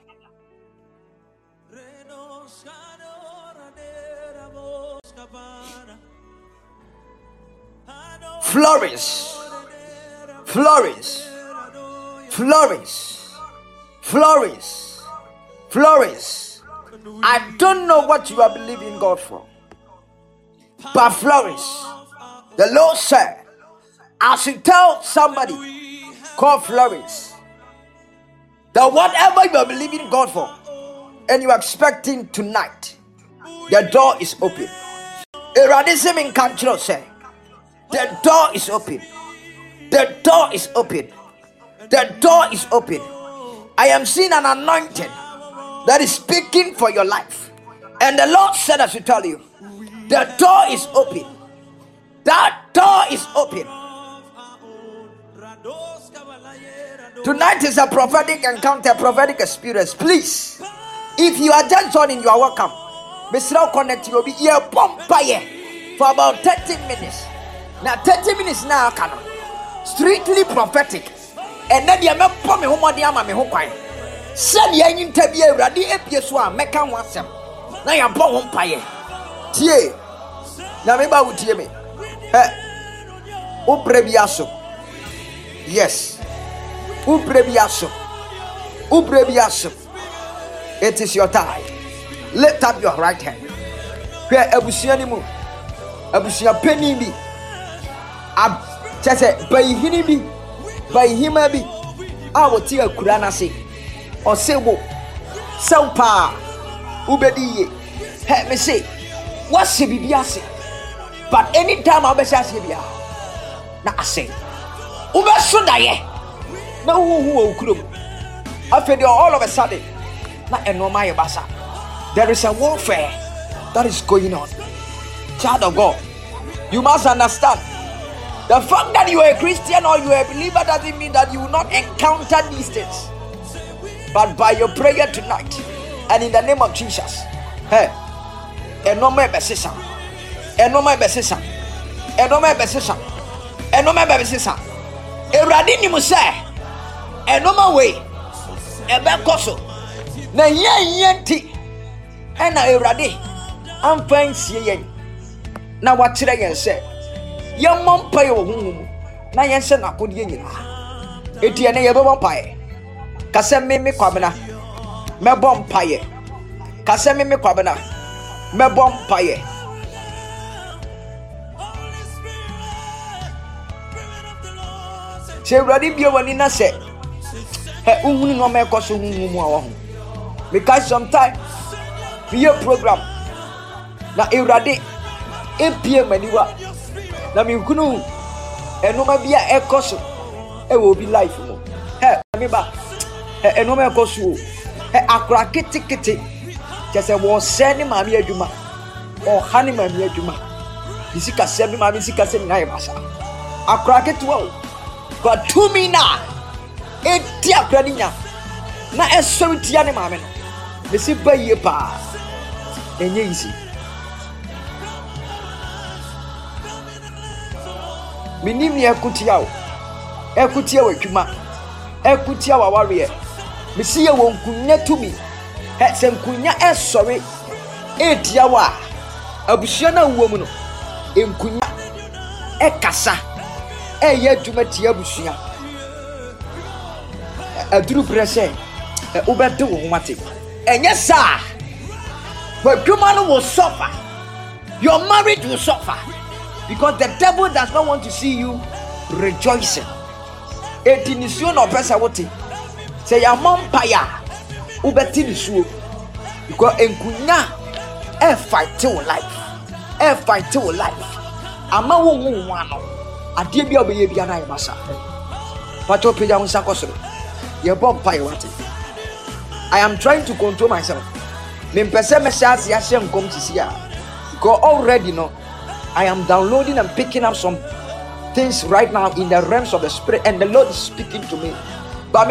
Flourish. Flourish. Flourish. Flourish. Flourish. I don't know what you are believing God for, but flourish. The Lord said, I should tell somebody called flourish that whatever you are believing God for and you are expecting tonight, the door is open. Eradism in control say, the door is open. The door is open. The door is open. I am seeing an anointing that is speaking for your life. And the Lord said I should tell you, the door is open. That door is open. Tonight is a prophetic encounter, prophetic experience. Please, if you are just joining, you are welcome. Mr. Connect, you will be here for about 30 minutes. Now 30 minutes now, canon. Strictly prophetic. And then you make me home me home. Send your interview ready episode make an answer. Now you are umpire. Tie. Now me ba utie me. Ubrebiaso. Yes. Ubrebiaso. Ubrebiaso. It is your time. Lift up your right hand. Where abusiani mu. Abusia penny bi. Ab chese bayihini bi. Bayihima bi. Awo ti akura na se. Osewo. Sampa. Ubediye. He me say. What's the bibiase? But anytime I be say bia. Na ase. Ube so daye. Na who okurom. After all of a sudden. Na enoma ye basa. There is a warfare that is going on. Child of God, you must understand. The fact that you are a Christian or you are a believer doesn't mean that you will not encounter these things. But by your prayer tonight, and in the name of Jesus, hey, enoma besisa, enoma besisa, enoma besisa, enoma besisa. Eradi ni muse, enoma way, ebe koso. Na yenti. And I already I'm fine seeing. Now what should I say? Young mom pay your womb. Now you send a good yin. Etienne ever pie. Cassam me quabana. Me bomb pie. Cassam me quabana. Me bomb pie. Say ready be one in a set. Hey, no me cost because sometimes your program na Eurade epie maniwa na me kunu enoma bia ekoso e wo bi life mo he me ba enoma ekoso he akura kitikiti kese wo se ni ma me adwuma o ha ni ma me adwuma bisika se bi ma me sika se na ye basa akura kitwa God to me na e ti akura ni nya na eso tia ni ma me no me si ba ye pa enye easy. Minim ni ekutia o. Ekutia wadwuma. Ekutia wa warrior. Me si ye wonkunya tumi. He se nkunya esori. Etia wa. Abusua na wo mu no. Enkunya ekasa. Eye adwuma tia abusua. Aduru prese. Ubete wo mate. And yes, sir. But human will suffer. Your marriage will suffer. Because the devil does not want to see you rejoicing. Etinisio no pesa wote. Say your mom paya. Ubeti nisuo. Because enkunya fight till life. Fight till life. Ama wo wano. Adie bia obeye bia na yebasa. Pato peja unsa kosoro. Ye bomb paya wate. I am trying to control myself. Because already know I am downloading and picking up some things right now in the realms of the spirit, and the Lord is speaking to me. But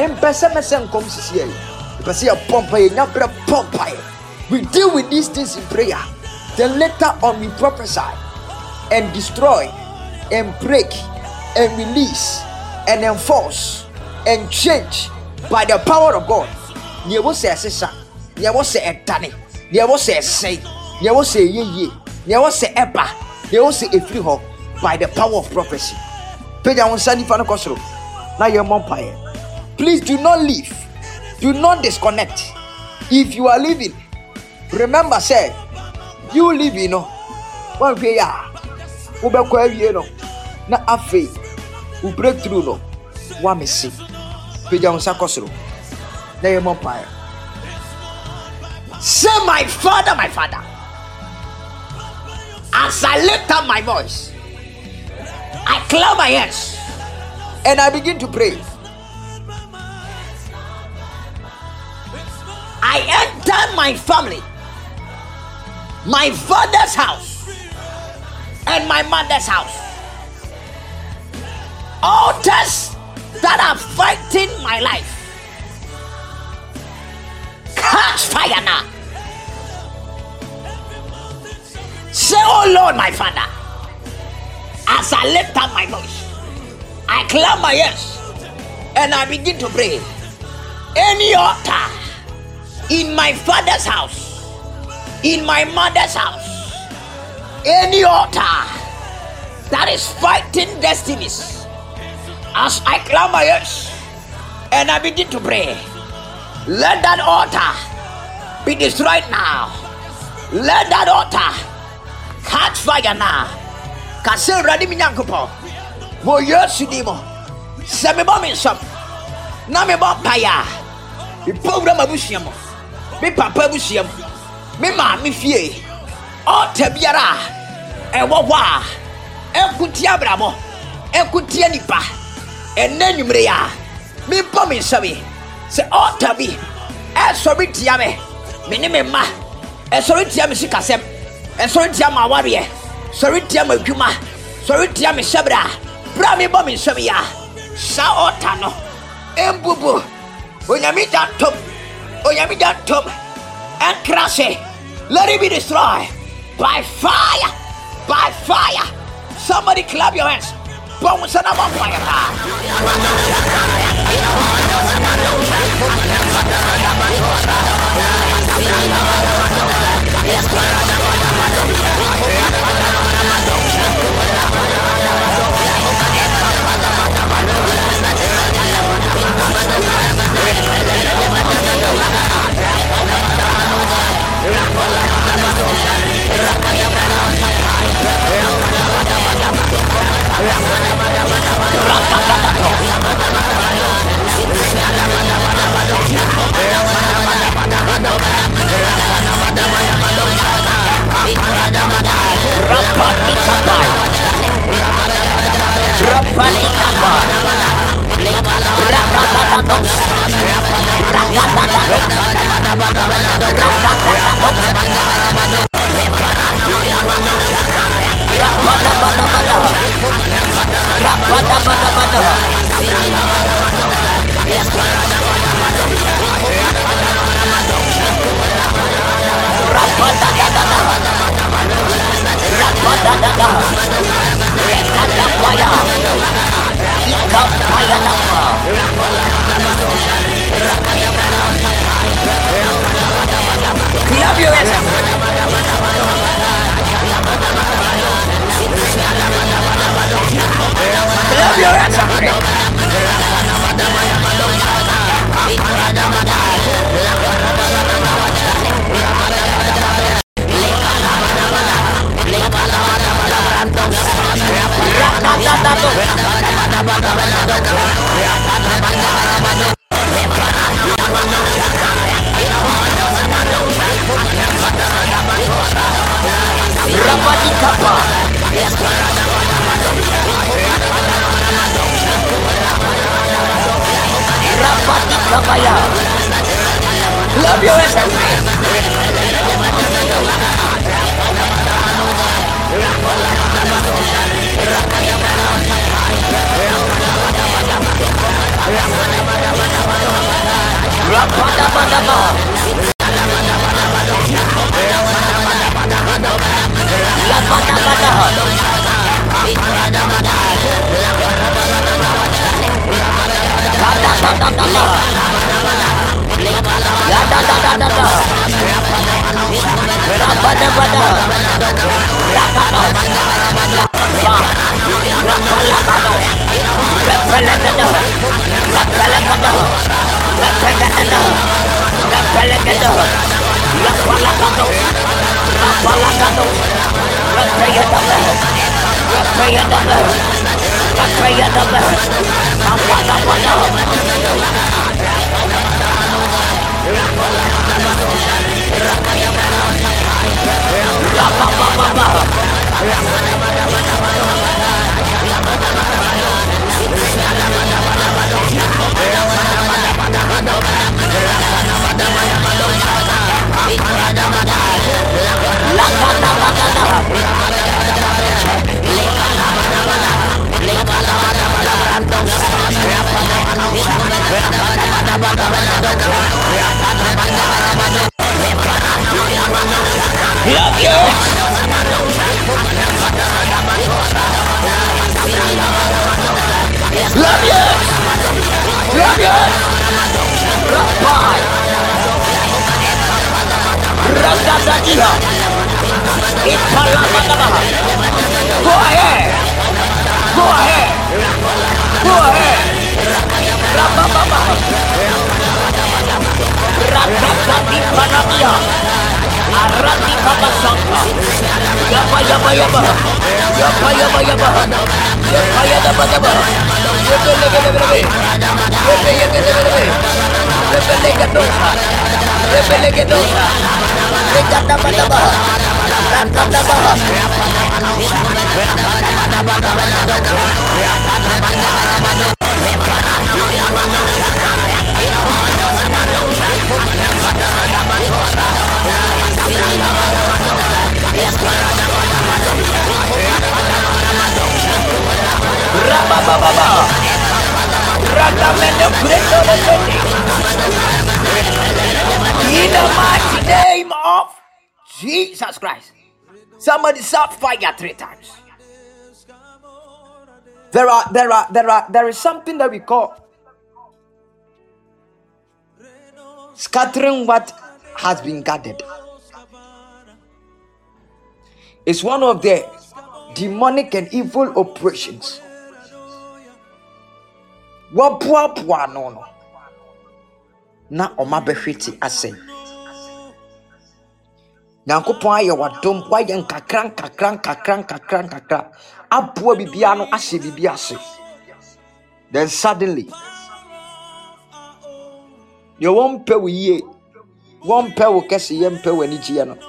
we deal with these things in prayer. Then later on we prophesy and destroy and break and release and enforce and change by the power of God. There was a session, there was a tani, there was a say, there was a ye, there was a epa, there was a free hop by the power of prophecy. Peja on Sunday Fano Kosro. Now your umpire. Please do not leave. Do not disconnect. If you are leaving, remember, say, you leave, you know. One way, you know. Na afe, we break through, no. One me see. Peja on Sakosro. Now your umpire. Say, my father, as I lift up my voice, I clap my hands and I begin to pray. I enter my family, my father's house and my mother's house. Altars that are fighting my life, catch fire now. Say, oh Lord, my Father, as I lift up my voice, I clap my hands and I begin to pray. Any altar in my father's house, in my mother's house, any altar that is fighting destinies, as I clap my hands and I begin to pray, let that altar be destroyed now. Let that altar catch fire now. Kase radi minyankopo. Mo yesu mo. Se me bo me nsom. Na me bo paya. Me program abusia mo. Me papa abusia mo. Me ma me fie. O tabiara. E wo wa. Ekuti abramo. Ekuti anipa. Enanumre ya. Me bo me nsabe. Se o tabi. E sorry tia me. Me ne me ma. E sorry tia me sikasem. E sorry tia ma ware. Sorry tia ma dwuma. Sorry tia me shabra. Bra me bo me nsabe ya. Sa otano. Embubu. Onyami dan top. Onyami dan top. And crash it. Let it be destroyed by fire. By fire. Somebody clap your hands. Bones and about fire. Clap your hands. Fire. Love you everywhere. Rapadabadaba. Lapadabada. Radadadadada. Radadadadada. Rapadabada. Rakada. Rapalakada. Rapalakada. Rapalakada. Rapalakada. Rapalakada. Rapalakada. Rapalakada. Rapayadaba. Rapayadaba. Rapayadaba. Rapalakada. Rapapapapa. Love you. Love you. Love you. Rapai. Ragadadila. Ipalabadaba. Go ahead. Go ahead. Go ahead. Rabababa. Ragadadi panabia. Arati kabasanga. Yaba yaba yaba. Yaba yaba yaba. Yaba yaba yaba. Yebe lebe lebe lebe. Yebe yebe lebe lebe. Yebe lege dosa. Yebe lege dosa. Lege daba daba. Raka daba. Rabababa. Ragamene preto de sete. In the mighty name of Jesus Christ. Somebody shout fire 3 times. There is something that we call scattering what has been gathered. It's one of the demonic and evil operations. Wapua no na omabehweti ase. Nyankopon aye wadom waye nkakran abua bibia no ahye bibia ase. Then suddenly you won't pay we ye won't pay we kese ye mpe wani gie no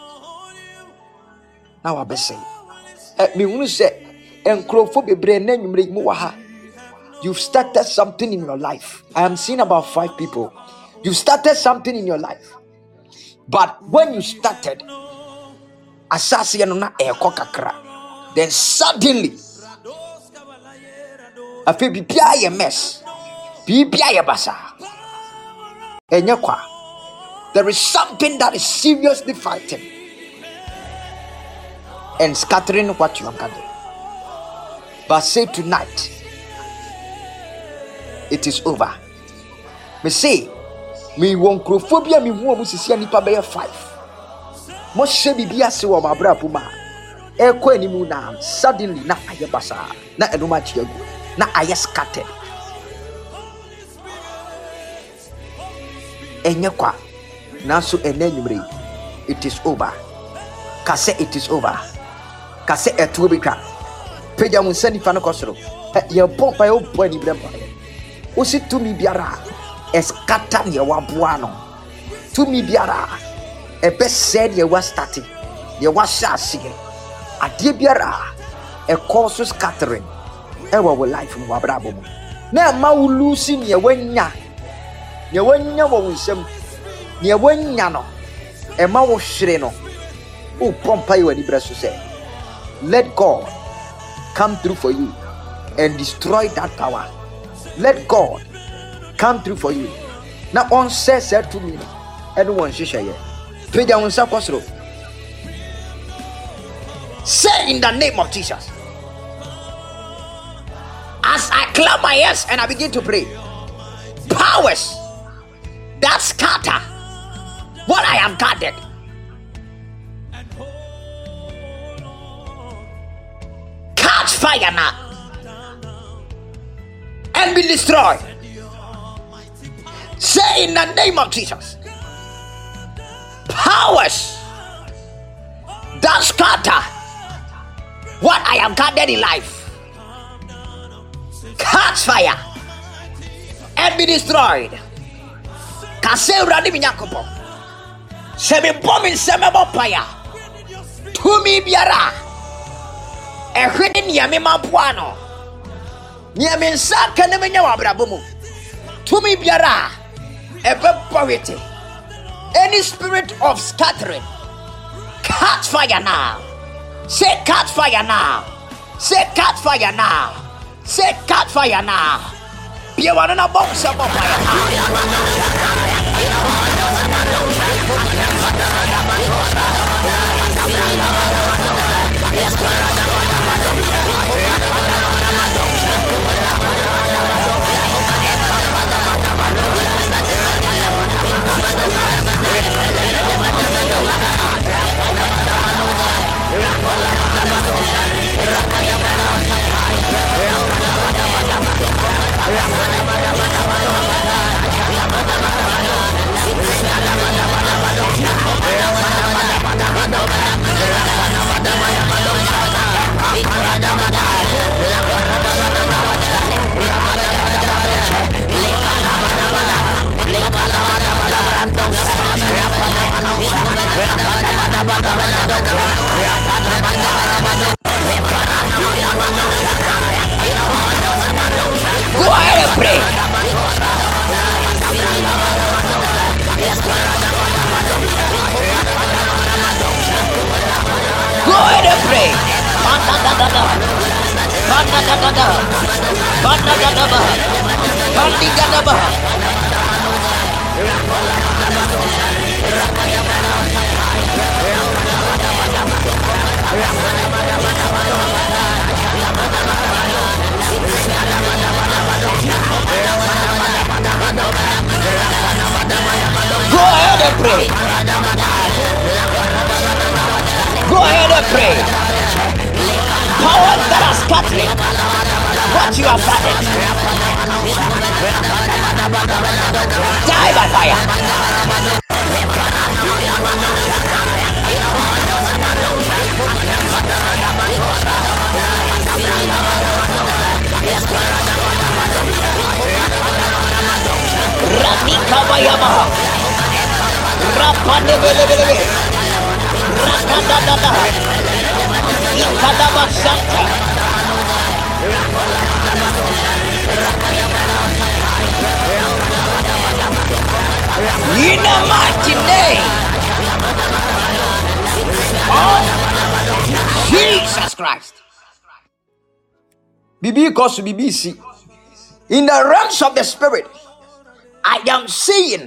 na wabese me hunu se enkrofo bebre na nwumre mu wa ha. You've started something in your life. I am seeing about 5 people. You've started something in your life. But when you started, asasi no na eko kakra. Then suddenly, afi bibia ye mess. Bibia ye basa. Enyekwa. There is something that is seriously fighting and scattering what you have gathered. But say tonight, it is over. Me say, me won crophobia me hu omu sisia nipa be 5. Mo hye bibia se wo mabra puma. Eko animu na suddenly na aye basa na enoma chiagu na aye scattered. Enyekwa na so enanyumre. It is over. Kase it is over. Kase etu bika. Peja munsani fa no kosoro. Ye pompa ye obo ni brempa. Osi tumi biara eskata ye waboa no. Tumi biara ebe said ye was starting. Ye was shasige. Ade biara e cause scattering. E wa life mu abrabo mu. Na ma wulusi ne wanya. ne wanya wo nsam ne wanya no ema wo hwere no o pompa yi wani breso say let God come through for you and destroy that power. Let God come through for you. Now on says to me anyone shisha ye peja unsa kwasro. Say in the name of Jesus, as I clap my hands and I begin to pray, powers that scatter what I have gathered, catch fire now and be destroyed. Say in the name of Jesus, powers that scatter what I have gathered in life, catch fire and be destroyed. Kasewra ni minyakopo sebe bombing semebo paya tumi biara ehwede niame maboano niame nsaka ne menya wabrabomu tumi biara ebepowete. Any spirit of scattering, catch fire now. Say catch fire now. Say catch fire now. Say catch fire now. Be one on a box of fire. Go ahead and pray. Go ahead and pray. Go ahead and pray. Go ahead and pray. Powers that are scattering what you have gathered, die by fire. Radikabayamaha Rapandebelebelebe Rakadadada Ikadabasanta in the mighty name of Jesus Christ. Because BBC in the realms of the spirit, I am seeing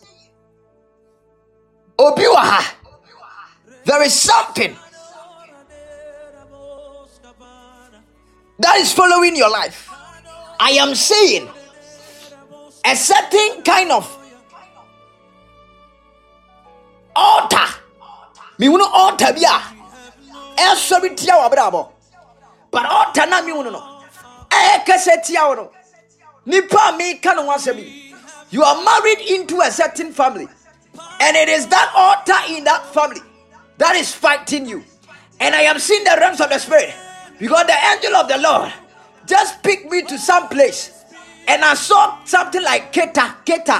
Obiwaha. There is something that is following your life. I am seeing a certain kind of altar. Me uno altar bia. Sorry tia wa brabo. But altar na me uno no. Kase tia wo no. Nipa me kan wasabi. You are married into a certain family, and it is that altar in that family that is fighting you. And I am seeing the realms of the spirit, because the angel of the Lord just picked me to some place, and I saw something like Keta.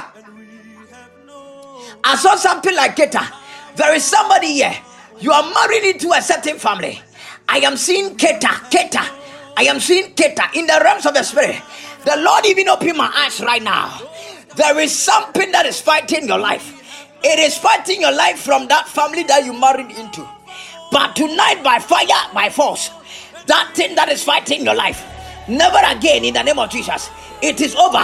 I saw something like Keta. There is somebody here. You are married into a certain family. I am seeing Keta. I am seeing Keta in the realms of the spirit. The Lord even opened my eyes right now. There is something that is fighting your life. It is fighting your life from that family that you married into. But tonight, by fire, by force, that thing that is fighting your life, never again in the name of Jesus. It is over.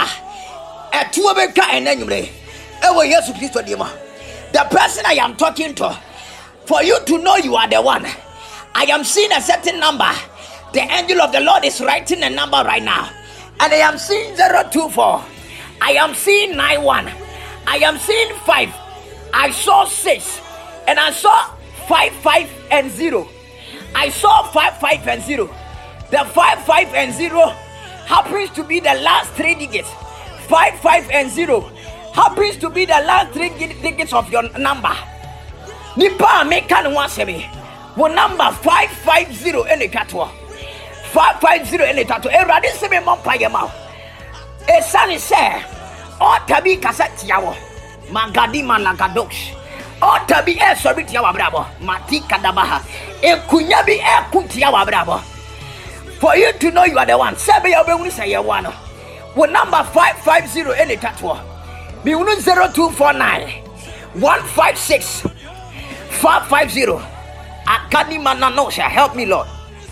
The person I am talking to, for you to know you are the one, I am seeing a certain number. The angel of the Lord is writing a number right now, and I am seeing 024. I am seeing 91. I am seeing 5. I saw 6, and I saw 5, 5, and 0. I saw 5, 5, and 0. The 5, 5, and 0 happens to be the last 3 digits. 5, 5, and 0 happens to be the last 3 digits of your number. Nipa mekan wasemi. Wo number 550 ene katwa. 550 ene katwa. Erade se me mompa yema. Esani se o tabi kasati yawo. Magadi managadosh. O tabi sorry yawa brabo. Mati kadabaha. Ekunya bi kunti yawa brabo. For you to know you are the one. Sebe ya be say you one. Wo number 550 ene katwa. Be 0249 156 550. Akani mananosha. Help me, Lord.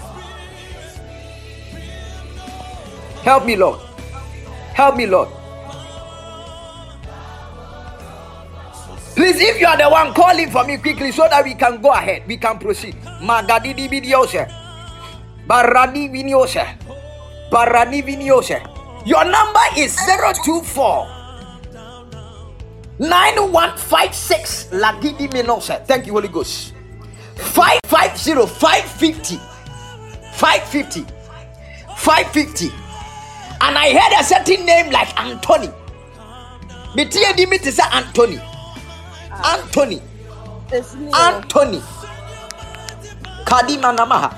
Help me, Lord. Help me, Lord. Please, if you are the one, call him for me quickly so that we can go ahead. We can proceed. Magadidi videose. Barani viniose. Barani viniose. Your number is 024 9156 Lagidi Menose. Thank you, Holy Ghost. 550 550 550 550. And I heard a certain name like Anthony. Metia dimiti say Anthony. Anthony. Anthony. Kadima namaha.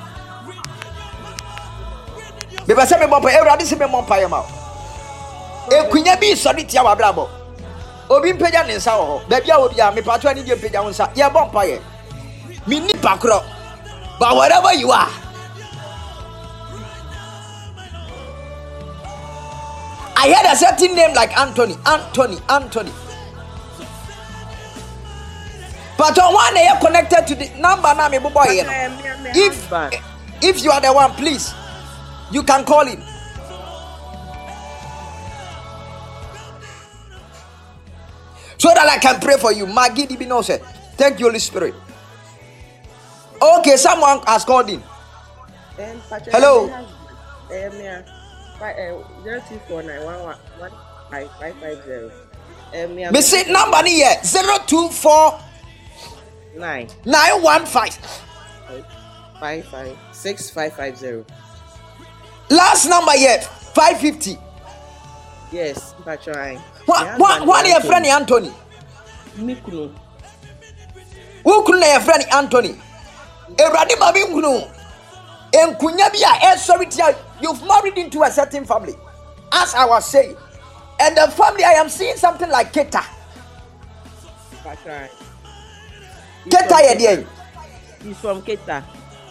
Beba se me mompa Ewurade se me mompa yema. Ekunya bi sori tia wa brabo. Obi mpega ne nsa wo ho. Ba bia obi a me patwa ni die mpega wo nsa. Ye bompa ye. Me ni pakro. But wherever you are, I heard a certain name like Anthony. Anthony. But on one they are connected to the number now me boy here. If you are the one, please, you can call him. So that I can pray for you. Magidi Binose. Thank you, Holy Spirit. Okay, someone has called in. Hello. 0249111550. Me say number ni here 024 915 556 Last number here 550. Yes, but trying. What your friend Anthony? Mikunu. Who could your friend Anthony? Eradi babi ngunu. Enkunya bia sorry tia. You've married into a certain family, as I was saying, and the family I am seeing something like Keta. That's right. Keta yediye. He's from Keta.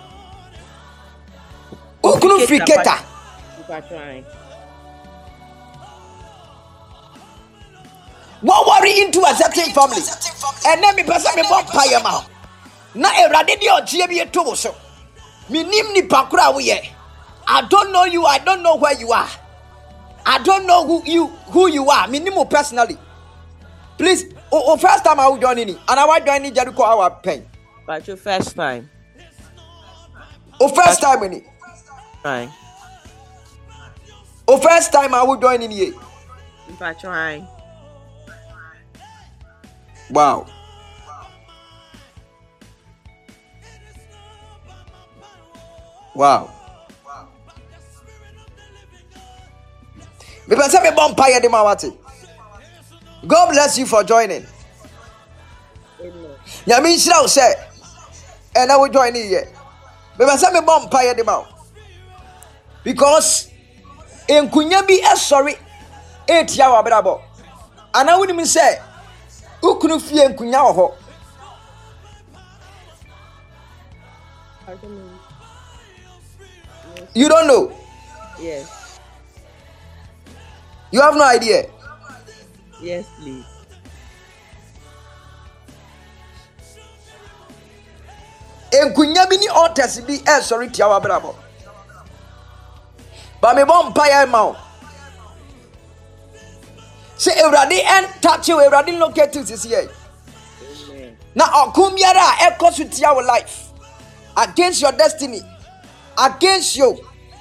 Ukunu free Keta. That's right. What worry into a certain family, and then me person me bomb payama. Na erade di oje bi eto so. Me nim ni pakura wo ye. I don't know you. I don't know where you are. I don't know who you are. Me nimo personally. Please, first time I will join in, and I will join in Jericho our pain. But your first time. First time in it. Right. First time I will join in here. But trying. Wow. Wow. God bless you for joining. Yamin Shroud said, and I will join in here. Because in Kunyabi, sorry, 8 hour bravo. And I wouldn't even say, who couldn't feel Kunyaho? You don't know? Yes. You have no idea. Yes, please. Enkunya bi ni altars bi sorry tia wa brabo. Ba me bom mpaye ma o. Say Ewurade en touch you, Ewurade locate you this year. Amen. Na okum biara e koso tia your life against your destiny, against you.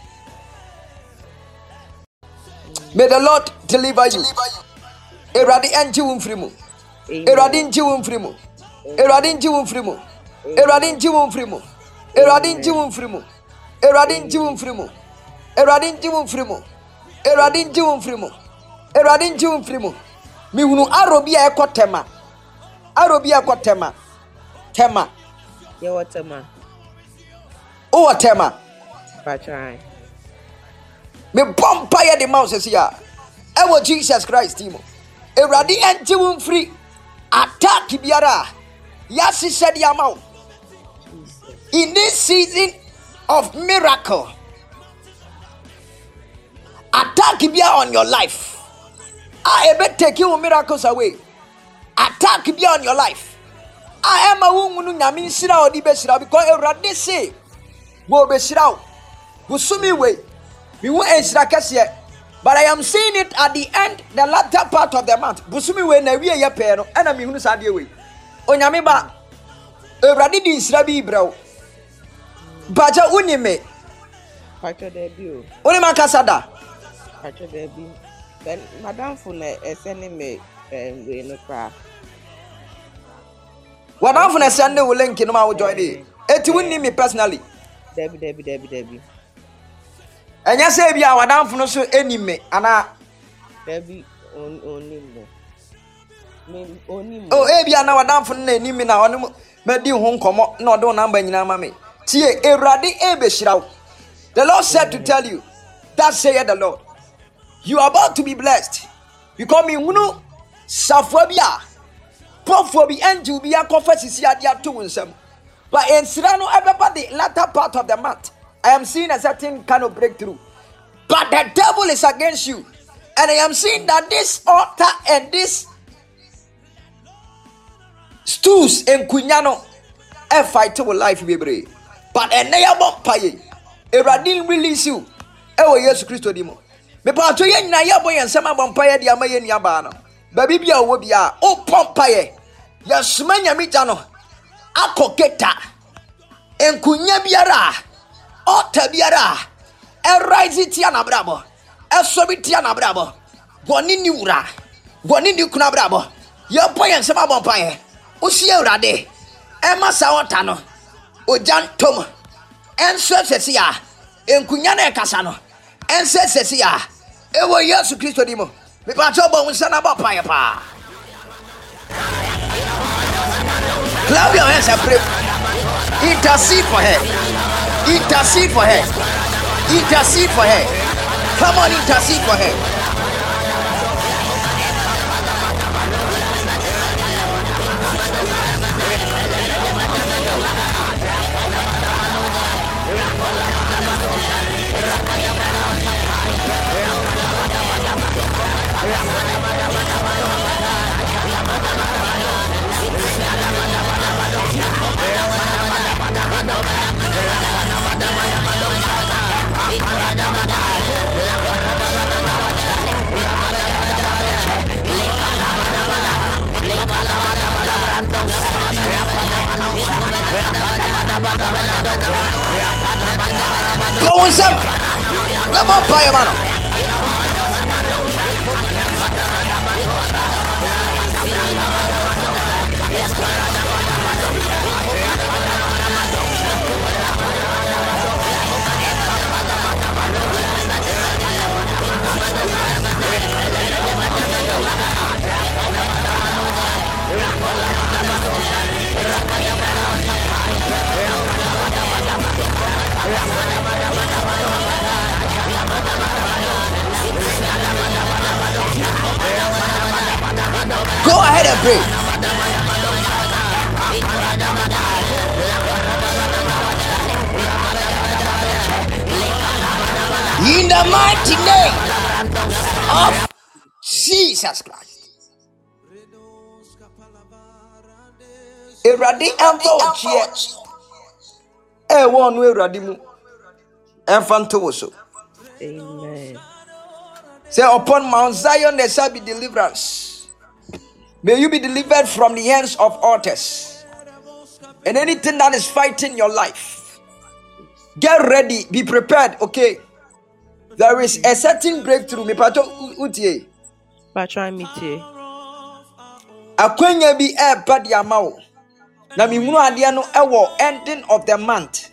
May the Lord deliver you. Ewurade en ji wo mfiri mu. Ewurade nji wo mfiri mu. Ewurade nji wo mfiri mu. Ewurade nji wo mfiri mu. Ewurade nji wo mfiri mu. Ewurade nji wo mfiri mu. Ewurade nji wo mfiri mu. Ewurade nji wo mfiri mu. Ewurade nji wo mfiri mu. Mi hunu arobi a ekotema. Arobi a ekotema. Tema. Yeah, what a man. O tema. Patron. Me bompa ye the mouse here. Ewo Jesus Christ timo. Ewurade nji wo mfiri. Attack biara. Yasi said yamau. In this season of miracle, attack be on your life. I ever take your miracles away. Attack be on your life. I am a woman who sira or besira because Ewurade say, "Wo besira, wo sumi way, we won't ensira kasiye." But I am seeing it at the end, the latter part of the month. Busumi way na we ye pe no, and I mean who sadie way. Onyame ba Ewurade di nsira bi brɛw. Baja unime. Patron debut. Oni makasada. Patron debut. Then Madam Fune sending me we no cry. Wadan for na send the link no ma wo join dey. Eti wonni me personally. Debbie. Enya say bia wadan for no so enime ana. Debbie only mo. Me only mo. Oh bia na wadan for na enime na ono medi ho nkomo na odo number nyina ma me. Tie Ewurade ebeshiraw. The Lord said to tell you, that saith the Lord, you are about to be blessed. Because me hunu safobia Profobi angel be a confess adia to winsome. But in Sirano, everybody, latter part of the month, I am seeing a certain kind of breakthrough. But the devil is against you. And I am seeing that this altar and this stools in Kunyano a fight with life, baby. But a nayabo paye, a radin release you. Ewo Yesu Christo dimo. Me pa to ye na yabo yen sama bompaye dia maye ni abano. Baby bia wo bia o pompaye. Ya sumanya mitano. Akoketa. Enkunya biara. Ota biara. E rise tia na brabo. E sobi tia na brabo. Goni ni wura. Goni ni kuna brabo. Ya poyen sama bompaye. Usi Ewurade. E masa ota no. Ojantom. Enso sesia. Enkunya na ekasa no. Ense sesia. Ewo Yesu Kristo dimo. Me pa to bo unsa na ba paye pa. Clap your hands and pray. Intercede for her. Intercede for her. Intercede for her. Come on, intercede for her. Go on, Sam. Come on, fire, man. Go ahead and pray. In the mighty name of Jesus Christ. Eradi emfa ochie. Wonu Eradi mu. Emfa nto so. Amen. Say, upon Mount Zion there shall be deliverance. May you be delivered from the hands of others and anything that is fighting your life. Get ready, be prepared. Okay, there is a certain breakthrough. Me pato utie. Patron meeting. Akwenya bi bad yamao. Na mi munu ade no ewo ending of the month.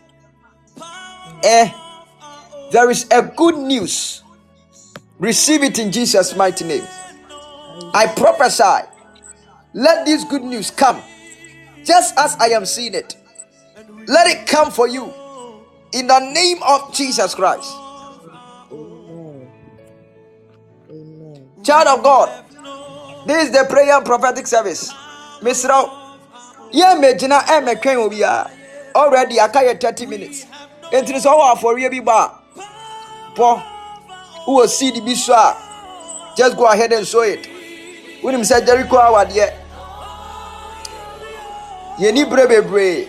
There is a good news. Receive it in Jesus' mighty name. I prophesy. Let this good news come. Just as I am seeing it. Let it come for you. In the name of Jesus Christ. Amen. Amen. Child of God. This is the prayer and prophetic service. Mr. Yeah, Mejina Emekan Obia. Already I carry 30 minutes. It is all for you, Biba. Paul. Who will see the biswa? Just go ahead and show it. When him said Jericho award yet. Ye ni brebe.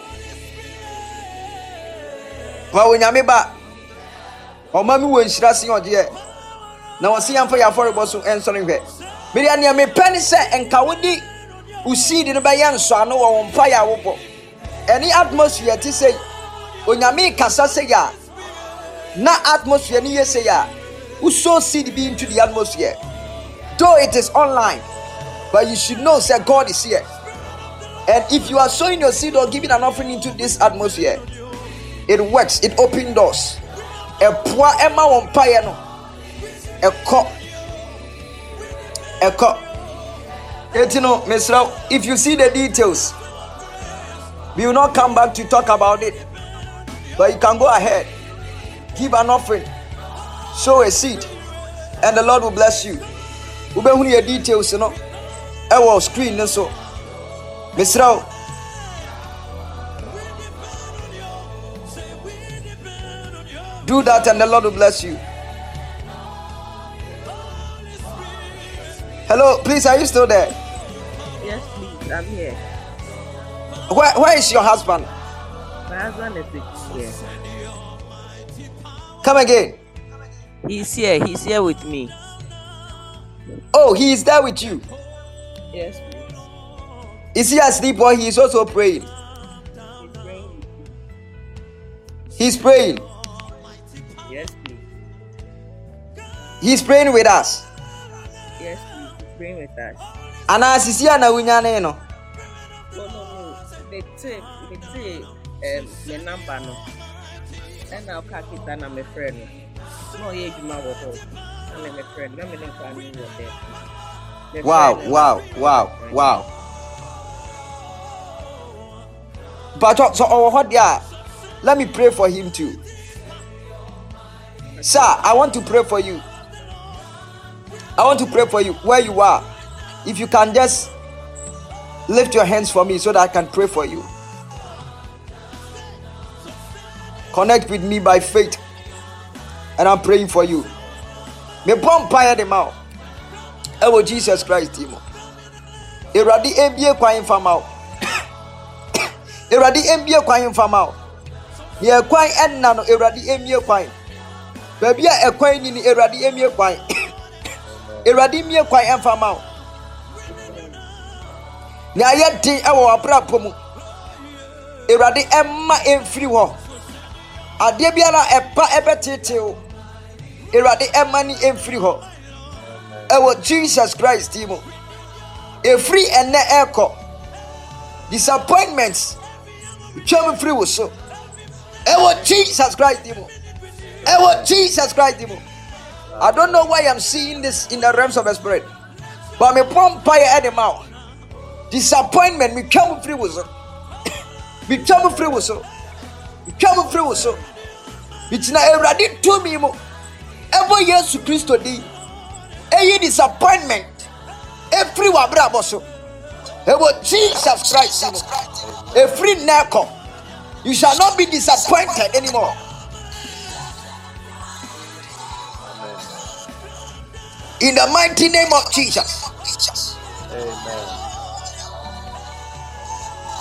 Wa wonyame ba. O mami wo nshira sin ode. Na wose yamfa ya for boso ensori hwe. Me dia ne me pen se enka wodi usidi no be ye nso ano wo mpa ya wo. Any atmosphere ti say onyame kasa say ya. Na atmosphere ni say ya. Who sow seed be into the atmosphere? Though it is online, but you should know that God is here. And if you are sowing your seed or giving an offering into this atmosphere, it works. It opens doors. A poor Emma on piano. A cup. If you see the details, we will not come back to talk about it. But you can go ahead, give an offering. Sow a seed, and the Lord will bless you. We will hear details, you know. Our screen, so Mr. Do that, and the Lord will bless you. Hello, please, are you still there? Yes, please, I'm here. Where is your husband? My husband is here. Come again. He's here with me. Oh, he is there with you. Yes, please. Is he asleep or he is also praying? He's praying. He's praying. Yes, please. He's praying with us. Yes, please. He's praying with us. And as is here now, no. No. They take the number no. And I'll catch it and I'm a friend. No, yeah, you might walk. I'm a friend. Let me know if I need you there. Wow. But so what yeah? Let me pray for him too. Sir, I want to pray for you. I want to pray for you where you are. If you can just lift your hands for me so that I can pray for you. Connect with me by faith. And I'm praying for you. Me vampire them out. Oh Jesus Christ, Timo. Eradi MBA kwai famao. Eradi MBA kwai famao. Ye kwai enna no eradi MBA kwai. Baby a kwai ni eradi MBA kwai. Eradi MBA kwai famao. Ni ayeti ewo abrapo mu. Eradi emma emfiri ho. Ade biara epa ebetete o. Eradi emani emfiri ho. Ewo Jesus Christ Timo. A free and echo. Disappointments. Come free was so. Ewo Jesus Christ Timo. Ewo Jesus Christ Timo. I don't know why I'm seeing this in the realms of the spirit. But me pump fire at the mouth. Disappointment me come free was so. Me come free was so. Me come free was so. It's not eradi to me mo. Ever yes to Christ today. A disappointment. Every one bravo so. Jesus Christ. A free knuckle. You shall not be disappointed anymore. In the mighty name of Jesus. Amen.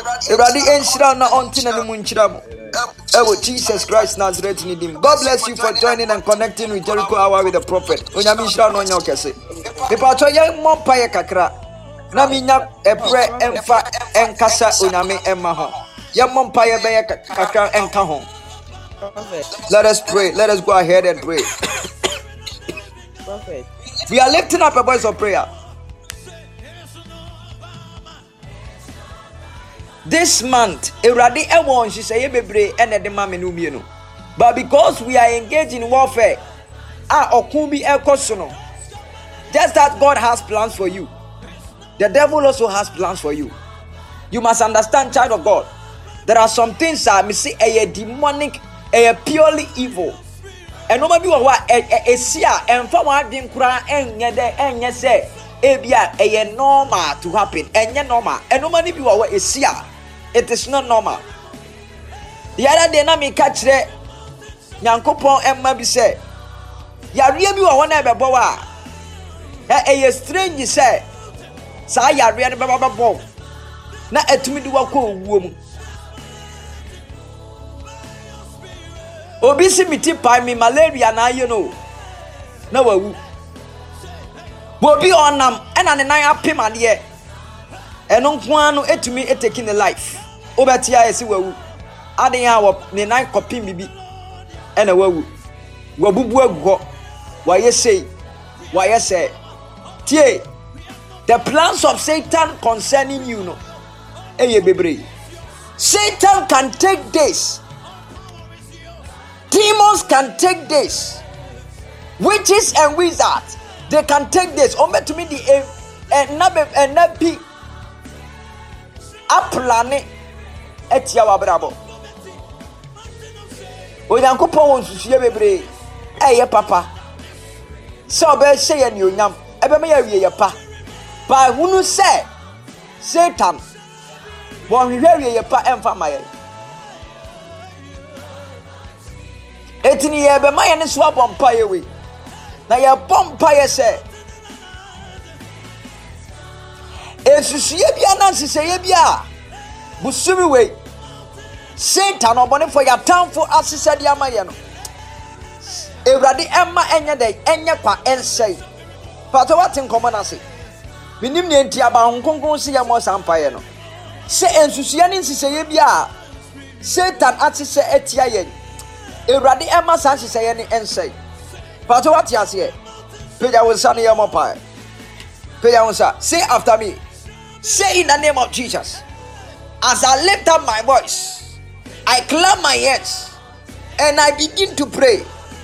Eradi enshira na ontina no munchira mo. Ewo Jesus Christ Nazareth ni dim. God bless you for joining and connecting with Jericho Hour with the prophet. Onyame shira no nya okese. Mepa to ye mompa ye kakra. Na minya ebre emfa enkasa onyame emma ho. Ye mompa ye be ye kakra enka ho. Let us pray. Let us go ahead and pray. Prophet. We are lifting up a voice of prayer. This month, Eradi Ewon, she say bebre and the mama no mienu. But because we are engaged in warfare, okumbi ekosono. Just that God has plans for you. The devil also has plans for you. You must understand, child of God. There are some things that me say a demonic, a purely evil. And no matter what, a sia and for one thing, kura enye say ebia a normal to happen, and normal. And no matter what, a sia. It is not normal. The other day, na me catch the Nyankopon Emma be say, ya really wa wana be bowa. A strange say, sa ya really be bo. Na etumi di wa ko wuom. Obi si miti pa mi malaria na you know. Na wawu. Bobi onam ena ne nan apem ade. Eno nko anu etumi taking the life. Obetia esi wawu. Aden ya wo ne nan kopim bibi. Ena wawu. Wabubu agugo. Waye say. Waye say. Tie. The plans of Satan concerning you no. Eye bebre. Satan can take days. Demons can take days. Witches and wizards, they can take days. Ome to me the nabi aplane etia wabrabo. Onyankopon won susuye bebre. Eye papa. So be say ye ni onyam. Ebe me ya wie pa. Ba hunu say Satan won hwehwe ye pa emfa maye. Etini ye be maye ne so abompa ye we. Na ye bompa ye say esusuye bia na siseye bia busumi we Satan obone for your town for asise dia maye no. Ewrade emma enye dey enye kwa ensey. Pato what in common ase. Binim ne ntia ba honkonkon se ye mo sampaye no. Se ensusuye ne siseye bia Satan atise etia ye. Ewrade emma san siseye ne ensey. Pato what you say? Peja wonsa ne ye mo pai. Peja wonsa. Say after me. Say in the name of Jesus. As I lift up my voice, I clap my hands and I begin to pray.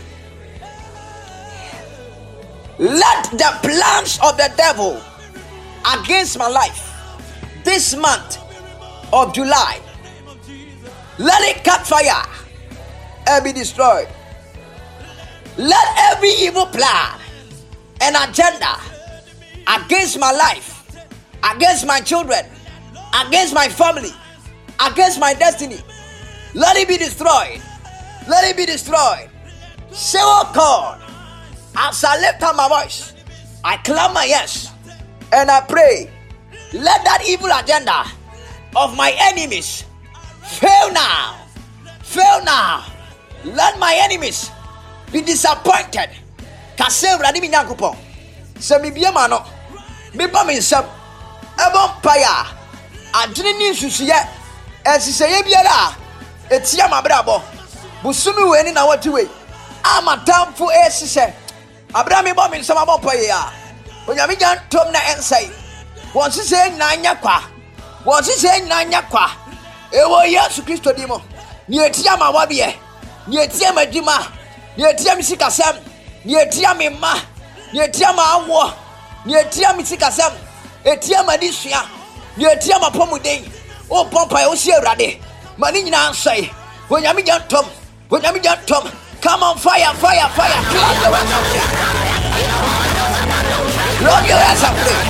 Let the plans of the devil against my life this month of July, let it catch fire and be destroyed. Let every evil plan and agenda against my life, against my children, against my family, against my destiny, let it be destroyed. Let it be destroyed. Say, oh God, as I lift up my voice, I clap my hands and I pray, let that evil agenda of my enemies fail now. Fail now. Let my enemies be disappointed. Kase Vladimir Nyankopon. Se mi bia ma no. Me ba me nsam. Ebon paya. Adwene ni nsusuye. Esiseye biara. Etia mabrabo. Busumi we ni na wati we. Amatamfo esise. Abra me ba me nsam abon paya. Onyame jan tom na ensai. Won sise nyina nya kwa. Won sise nyina nya kwa. Ewo Yesu Kristo dimo. Ni etia ma wabie. Ni etia madwuma. Ni etia misikasam. Ni etia me ma. Ni etia ma awo. Ni etia misikasam. Etia madisua. Ni etia mapomuden. O pompa o sie Awurade. Mani nyina ansai. Onyame jantom. Onyame jantom. Come on, fire, fire, fire. Love your hands and pray.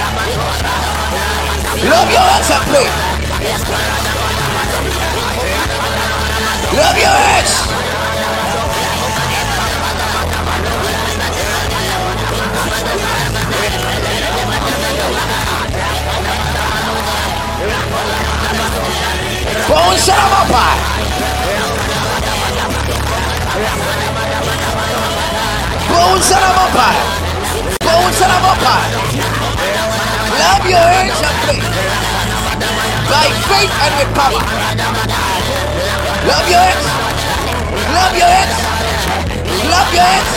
Love your hands and pray. Love your hands. Clap your hands and pray. By faith and with power. Clap your hands. Clap your hands. Clap your hands.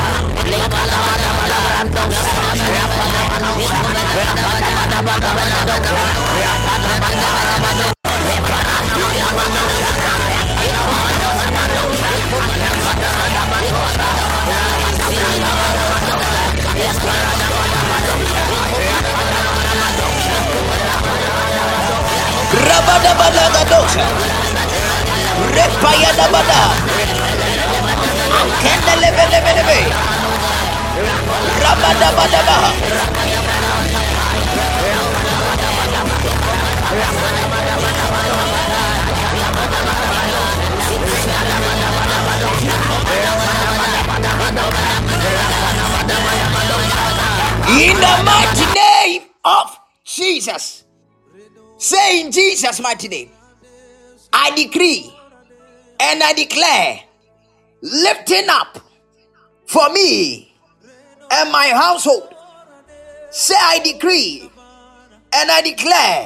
Rabadabadagadosha. Repayadabada. Akendelebelebelebe. Rabadabadabaha. In the mighty name of Jesus. Say in Jesus' mighty name, I decree and I declare lifting up for me and my household. Say I decree and I declare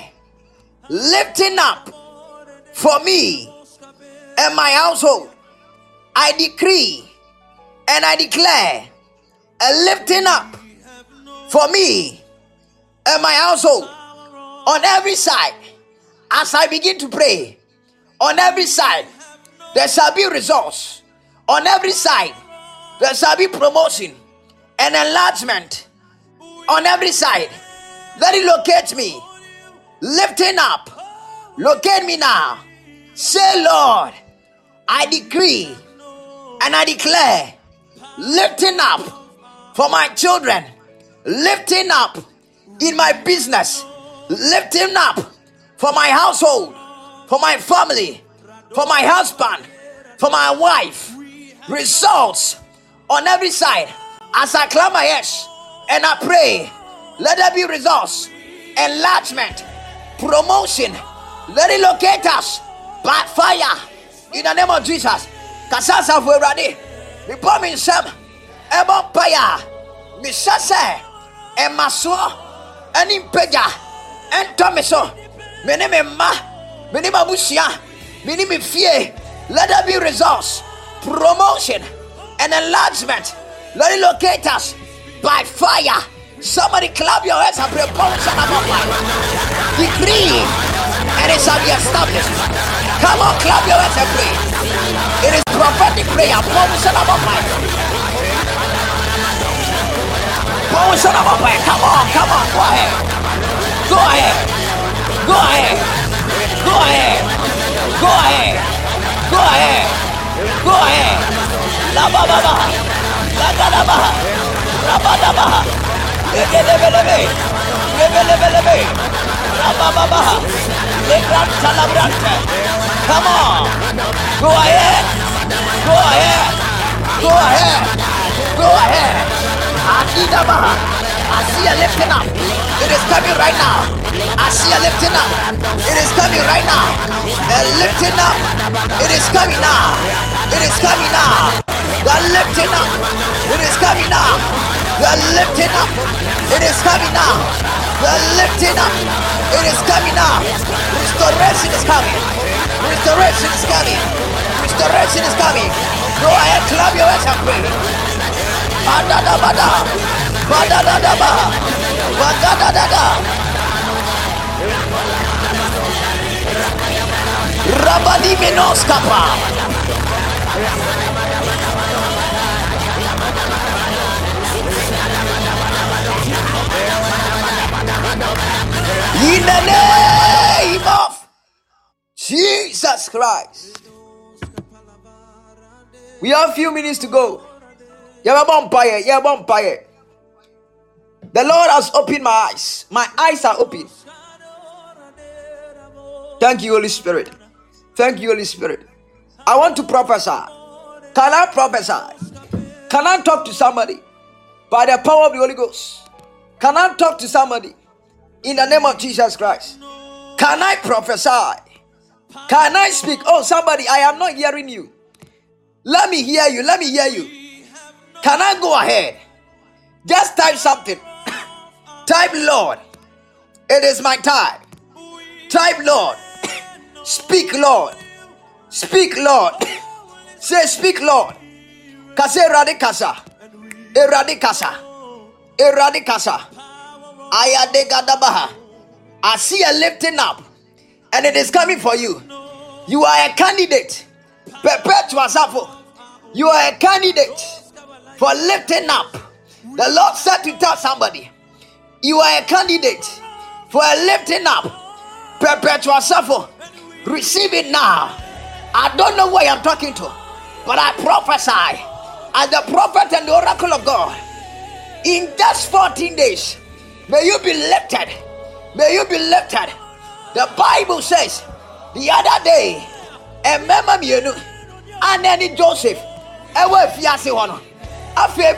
lifting up for me and my household. I decree and I declare a lifting up for me and my household. On every side, as I begin to pray, on every side, there shall be results. On every side, there shall be promotion and enlargement. On every side, let it locate me. Lifting up, locate me now. Say, Lord, I decree and I declare lifting up for my children, lifting up in my business, lifting up for my household, for my family, for my husband, for my wife. Results on every side. As I clap my hands and I pray, let there be results, enlargement, promotion. Let it locate us by fire in the name of Jesus. Kasasa fuerade, mi pomi nsem, ebo paya, mi sase, emaso, enimpeja. Entomeso, mene me ma, mene mabusia, mene me fie. Let there be results, promotion, and enlargement. Let it locate us by fire. Somebody clap your hands and pray. Decree, and it shall be established. Come on, clap your hands and pray. It is prophetic prayer. Come on, go ahead. Go ahead. Go ahead. Go ahead. Go ahead. Go ahead. Go ahead. La ba ba ba. La ga da ba. La ba da ba. Lebelebelebe. Lebelebelebe. La ba ba ba. Le gran calabrante. Come on. Go ahead. Go ahead. Go ahead. Go ahead. Adida ba. I see a lifting up. It is coming right now. I see a lifting up. It is coming right now. A lifting up. It is coming now. It is coming now. The lifting up. It is coming now. The lifting up. It is coming now. The lifting up. It is coming now. Restoration is coming. Restoration is coming. Restoration is coming. Go ahead, clap your hands and pray. Badadabada. Badadadaba. Badadadada. Rabadi menos kapa. In the name of Jesus Christ. We have a few minutes to go. The Lord has opened my eyes. My eyes are open. Thank you, Holy Spirit. Thank you, Holy Spirit. I want to prophesy. Can I prophesy? Can I talk to somebody by the power of the Holy Ghost? Can I talk to somebody in the name of Jesus Christ? Can I prophesy? Can I speak? Oh, somebody, I am not hearing you. Let me hear you. Let me hear you. Can I go ahead? Just type something. Type, Lord, it is my time. Type, Lord. Speak, Lord. Speak, Lord. Say, speak, Lord. Kase radikasa. Eradikasa. Eradikasa. Ayadegadabaha. I see a lifting up, and it is coming for you. You are a candidate. Perpetual Safo. You are a candidate for lifting up. The Lord said to tell somebody, you are a candidate for a lifting up. Perpetual Safo. Receive it now. I don't know who I am talking to, but I prophesy as the prophet and the oracle of God. In just 14 days, may you be lifted. May you be lifted. The Bible says the other day, a mama mienu, and then Joseph, ewe fiase hono. After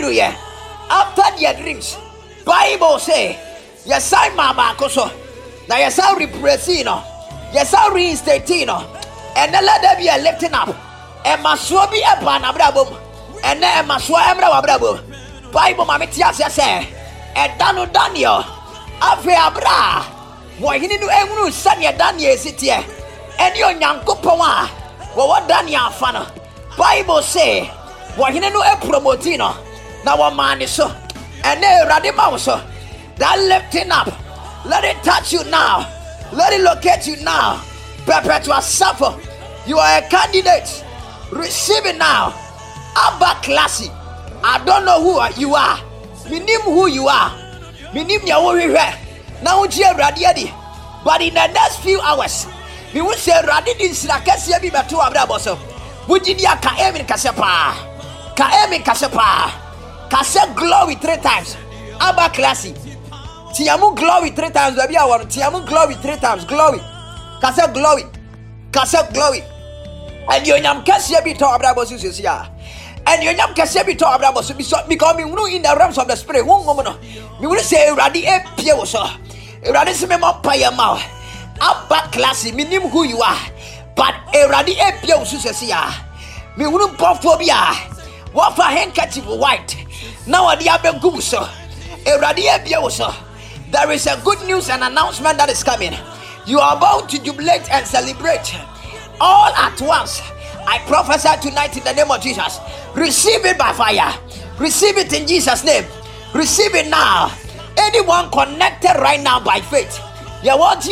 their dreams, Bible say, yes I mama koso. Now yes I represino, yes I reinstatino, and then let there be a lifting up. And maswa be a panabrabum, and then maswa emra wabrabo. Bible mamitias say, and Danu Daniel, After Abra, why he didn't do Sanya Daniel city, and your young Kupawa, what Daniel Fana. Bible say, why he didn't do a promotino. Now a man is so, and then Radimauso, that lifting up. Let it touch you now. Let it locate you now. Perpetual suffer. You are a candidate. Receive it now. Abba Classy. I don't know who you are. Minim who you are. Minim ya worry. Now you radiadi. But in the next few hours, we will say radidi sinakasia bi beto abraboso. Wujidia ka emi kasepa. Ka emi kasepa. Kase glory 3 times. Abba Classy. Tiamu glory 3 times. Baby, I want Tiamu glory 3 times. Glory. Kase glory. Kase glory. And you nyam kasia bi to abraboso sia. And you nyam kasia bi to abraboso because me in the realms of the spirit. One woman. Me will say radi e pie wo so. Radi se me mo paya ma. Abba Classy, me nim who you are. But radi e pie wo sia. Me will phobia. What for handkerchief white. Now adi abegum so. Radi e pie wo so. There is a good news and announcement that is coming. You are about to jubilate and celebrate all at once. I prophesy tonight in the name of Jesus. Receive it by fire. Receive it in Jesus' name. Receive it now. Anyone connected right now by faith, type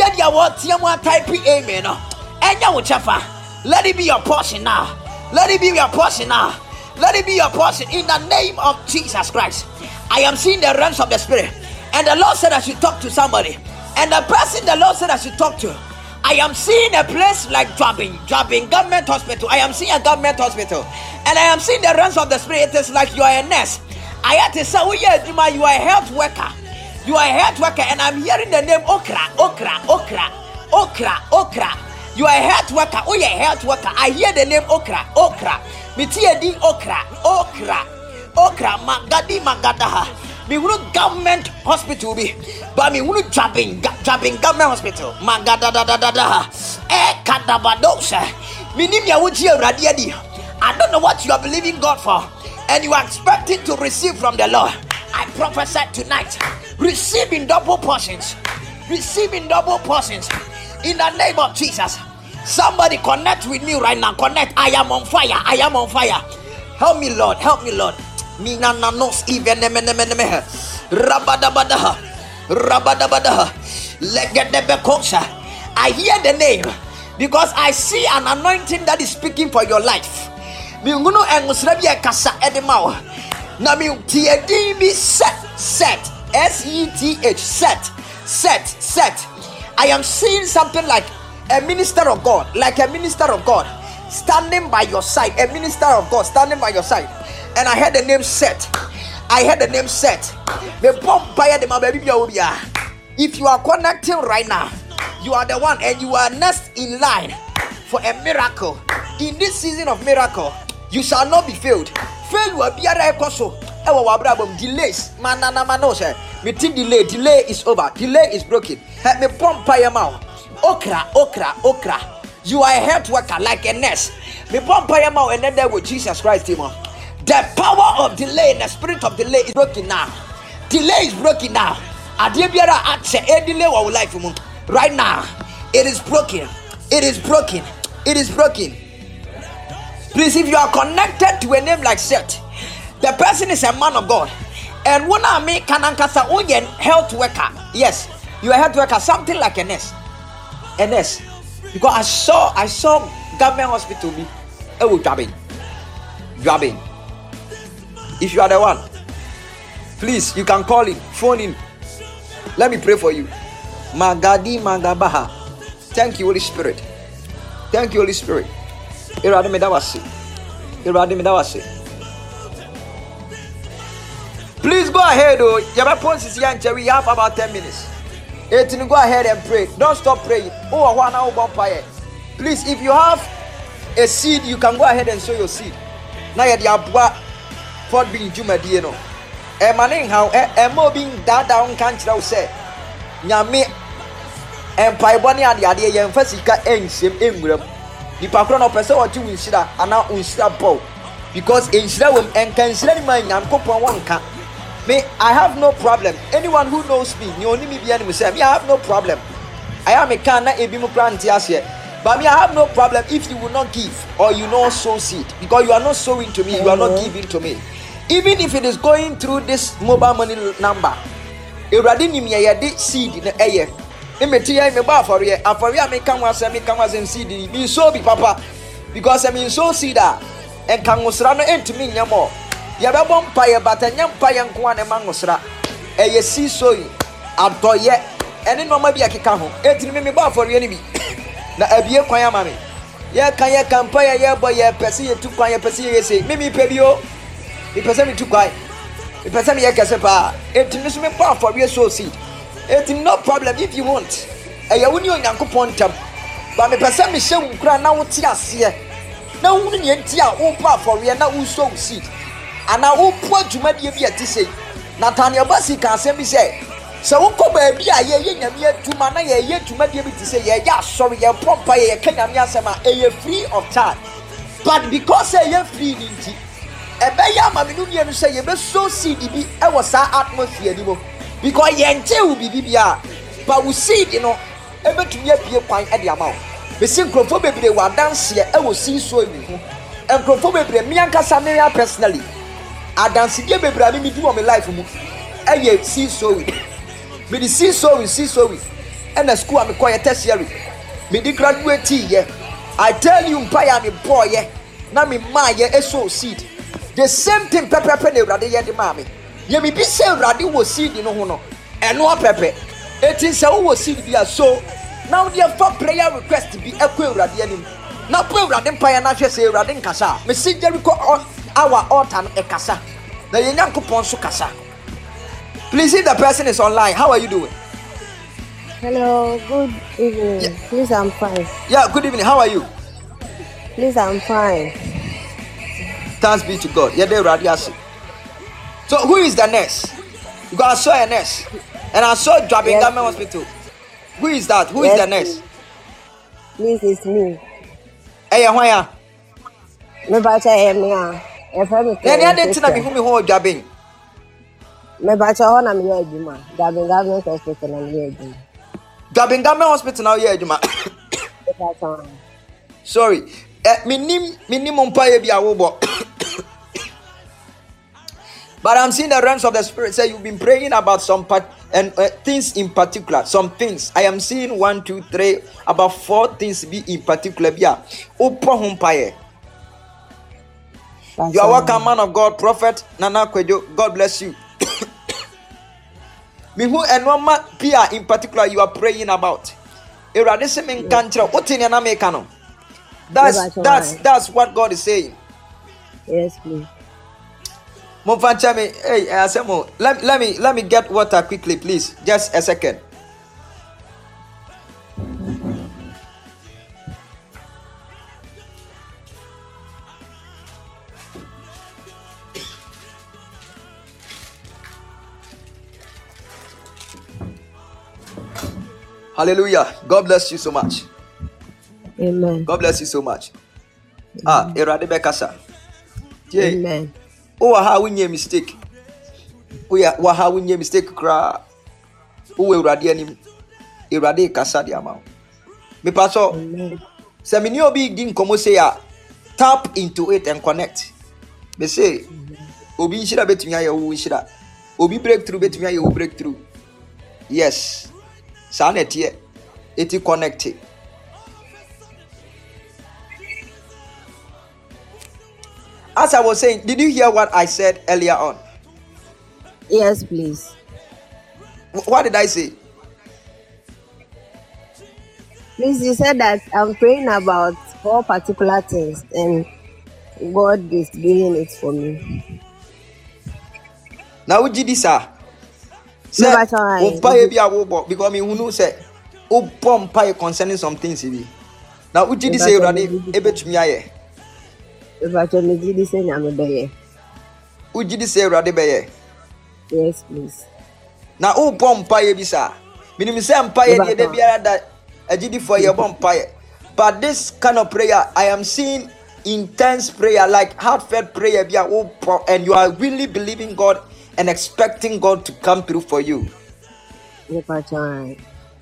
amen. Let it be your portion now. Let it be your portion now. Let it be your portion in the name of Jesus Christ. I am seeing the realms of the spirit. And the Lord said I should talk to somebody. And the person the Lord said I should talk to, I am seeing a place like Jobbing government hospital. I am seeing a government hospital. And I am seeing the realms of the spirit. It is like you are a nurse. I had to say, oh yeah, you are a health worker. You are a health worker. And I'm hearing the name Okra. You are a health worker. Oh yeah, health worker. I hear the name Okra. Mitiedi Okra. Magadaha. Me wunu government hospital be, but me wunu Jobbing government hospital. Magadadadada. Kadabadosa. Minim ya wuji radiadi. I don't know what you are believing God for, and you are expecting to receive from the Lord. I prophesy tonight. Receive in double portions. Receive in double portions. In the name of Jesus. Somebody connect with me right now. Connect. I am on fire. I am on fire. Help me, Lord. Help me, Lord. Mina nanos even rabadabadaha legedebekosa. I hear the name because I see an anointing that is speaking for your life. Minguno engusrebia kasa edemao. Na mi tiedi mi set SETH set. I am seeing something like a minister of God, standing by your side. A minister of God standing by your side. And I heard the name SETH. If you are connecting right now, you are the one, and you are next in line for a miracle. In this season of miracle, you shall not be failed. Fail will be a koso. Delays. Delay is over. Delay is broken. Help me pump your mouth. Okra. You are a health worker like a nurse. Me pump your mouth and then there with Jesus Christ, Timon. The power of delay, the spirit of delay is broken now. Delay is broken now. Adebiara atse e delay wa life mu. Right now, it is broken. It is broken. It is broken. Please, if you are connected to a name like Seth, the person is a man of God. And when I make Kanankasa Oyen health worker, yes, you are a health worker, something like a nurse. A nurse. Because I saw government hospital be grabbing. If you are the one, please, you can call him, phone him. Let me pray for you. Magadi Magabaha. Thank you, Holy Spirit. Thank you, Holy Spirit. Please go ahead, oh. We have about 10 minutes. Go ahead and pray. Don't stop praying. Please, if you have a seed, you can go ahead and sow your seed. Now you have Fort being Juma Dieno. A man how a mobbing that down country say. Yami and Paibani and the idea and Fessica ends him in the Pacron person or two Inshida and now Inshida Bow. Because Inshida and considering my Yankopon one can. Me, I have no problem. Anyone who knows me, you only me be enemy say, I have no problem. I am a kana ebimu plantias here. But me, I have no problem if you will not give or you not sow seed. Because you are not sowing to me, you are not giving to me. Even if it is going through this mobile money number, Eradini me a seed in the air. Imetia me ba for ye. And for ye me come was seed. Me so be papa. Because I mean so seed and can was run into me more. Yababon pie but a young pie and quan a mangosra. A sea soy. Atoye. And in no maybe a kikaho. 18 me ba for your enemy. Na a beer quaya mammy. Ya kaya campaya ya boy ya persi to quaya persi say. Mimi pebio. The person too quiet. The person ya casepa. 18 me pa for your soul seed. 18 no problem if you want. A yaunio yanko pontam. But the person me show crown now tears here. Now wouldn't you tear opa for we are now sow seed. And I will put you maybe to say, Natania Bassi can send me say, so baby, I hear to mana ye to maybe to say, yeah, sorry, you're proper, you can free of charge. But because I am free, a bayam, say, you best so see the I was our atmosphere, because ye will be BBR, but we see, you know, ever to be a pint at the amount. The synchrophobia they were dance here, I will see so and chrophobia, Mianca Samia personally. I dance again, baby. Me do on my life. I see so we. Me the see so we. And the school I'm quite tertiary. Me the graduate yeah. I tell you, pay me boy yeah. Now me my yeah so seed. The same thing pepper penny rather yeah the mommy. Ye me be say rather was seed in no. And no pepper. It is how was seed be so. Now the for prayer request to be a queer rather. Now pray rather pay and I say rather kasa. Me see Jericho on. Our altar a casa. The young coupon so casa. Please, if the person is online, how are you doing? Hello, good evening. Yeah. Please, I'm fine. Yeah, good evening. How are you? Please, I'm fine. Thanks be to God. Yeah, they're radiasi. So, who is the nurse? Because I saw a nurse, and I saw Drabin Government Hospital. Who is that? Who is the nurse? Please, it's me. Hey, why? Me bacha me Then I didn't tell me who me hold Drabin. Me bacha ho na me ejuma. Drabin Government Hospital na me ejuma. Drabin Government Hospital now yeah, Juma. Sorry. Minimum pay be a wobo. But I'm seeing the realms of the spirit say you've been praying about some things in particular. Some things. I am seeing 1, 2, 3, about 4 things be in particular. Yeah. You are welcome, man of God, Prophet Nana Kwejo. God bless you. Me who and one man Pia in particular you are praying about. That's what God is saying. Yes, please. Hey, Asemo, let me get water quickly, please. Just a second. Hallelujah. God bless you so much. Amen. God bless you so much. Erade Bekasa. Amen. Oh, how we mistake. We are how we mistake cry. Oh, we radianim. Irade kasa di amount. Me paso. Se me ni obi din komo say ya tap into it and connect. Me say obi nshira betumi aye wo nshira. Obi breakthrough betumi aye wo breakthrough. Yes. Sa na tie. Eti connected. As I was saying, did you hear what I said earlier on? Yes, please. What did I say? Please, you said that I'm praying about 4 particular things and God is doing it for me. Now would you this sir? Say, because me who know say, oh bomb pie concerning some things. Now would you this say, Radi? Ebet me aye. If I told me this say I'm a bear. Would you this say, Radi beye? Yes, please. Now oh bomb pie bisa. Minimum say empire de biara that a GD for your bomb pie. But this kind of prayer, I am seeing intense prayer, like heartfelt prayer, and you are really believing God and expecting God to come through for you. If I try.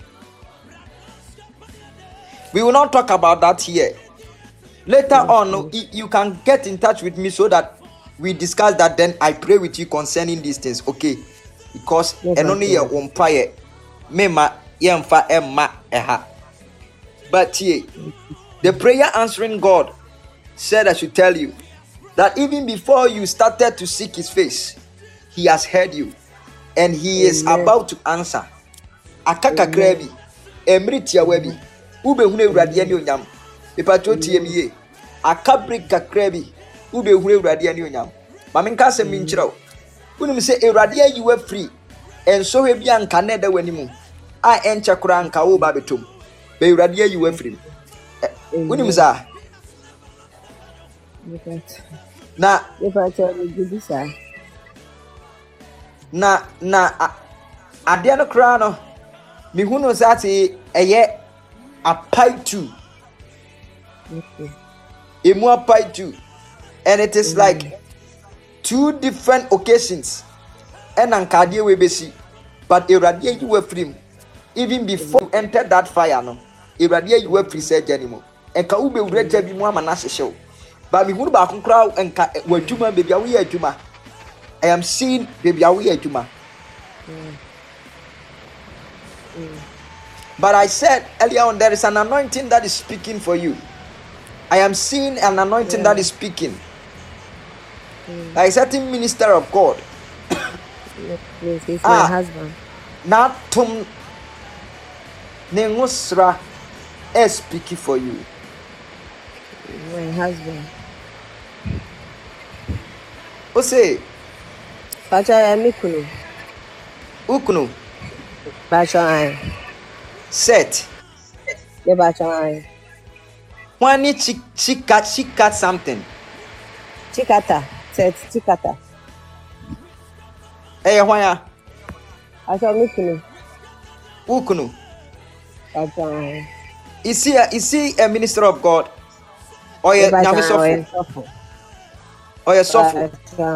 We will not talk about that here. Later on, you can get in touch with me so that we discuss that. Then I pray with you concerning these things, okay? Because and only your umpire, mema yemfa emma eha. But here, the prayer answering God said I should tell you that even before you started to seek His face, He has heard you, and He is about to answer. Akaka krebi, emritia webi, ube hune uradi ani onyam. Ipacho TME. Akabri kakrebi, ube hune uradi ani onyam. Maminka se minchiro. Unum se uradi you were free, and so he be ankane da wanimu. I encha kura anka wo ba betum. Be uradi you were free. Unum za. Na if I tell you this sir. Na adeɛ no kra no me hu no sate ɛyɛ apai too. Emu apai too, and it is like 2 different occasions and ankadeɛ we besi, but eradeɛ you were free even before you entered that fire no eradeɛ you were free say janimo enka ube ureta bi mu amana hyehyɛw ba me hu no ba konkra enka wadwuma baby awo yɛ adwuma. I am seeing baby awi ejuma. But I said earlier on, there is an anointing that is speaking for you. I am seeing an anointing that is speaking. Like a certain minister of God. Yes, he's my husband. Natum Nengusra is speaking for you. My husband. O say Pacha mikunu. Ukunu. Pacha set. The pacha. One she cut something. Chikata. Set chikata. Hey, why? Pacha mikunu. Ukunu. Pacha. Is he a minister of God? Or a Namisofu? Or a sofu?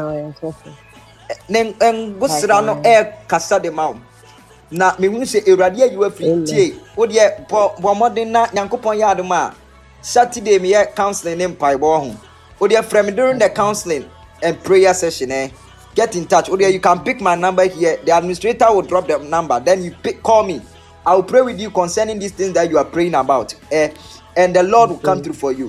Nen busra no kasa de maum na me hu se ewrade you afri tie wo de bo modern na Nyankopon ya adoma Saturday me counseling in paibo ho wo de frame during the counseling and prayer session get in touch. You can pick my number here. The administrator will drop the number, then you call me. I will pray with you concerning these things that you are praying about, and the Lord will come through for you.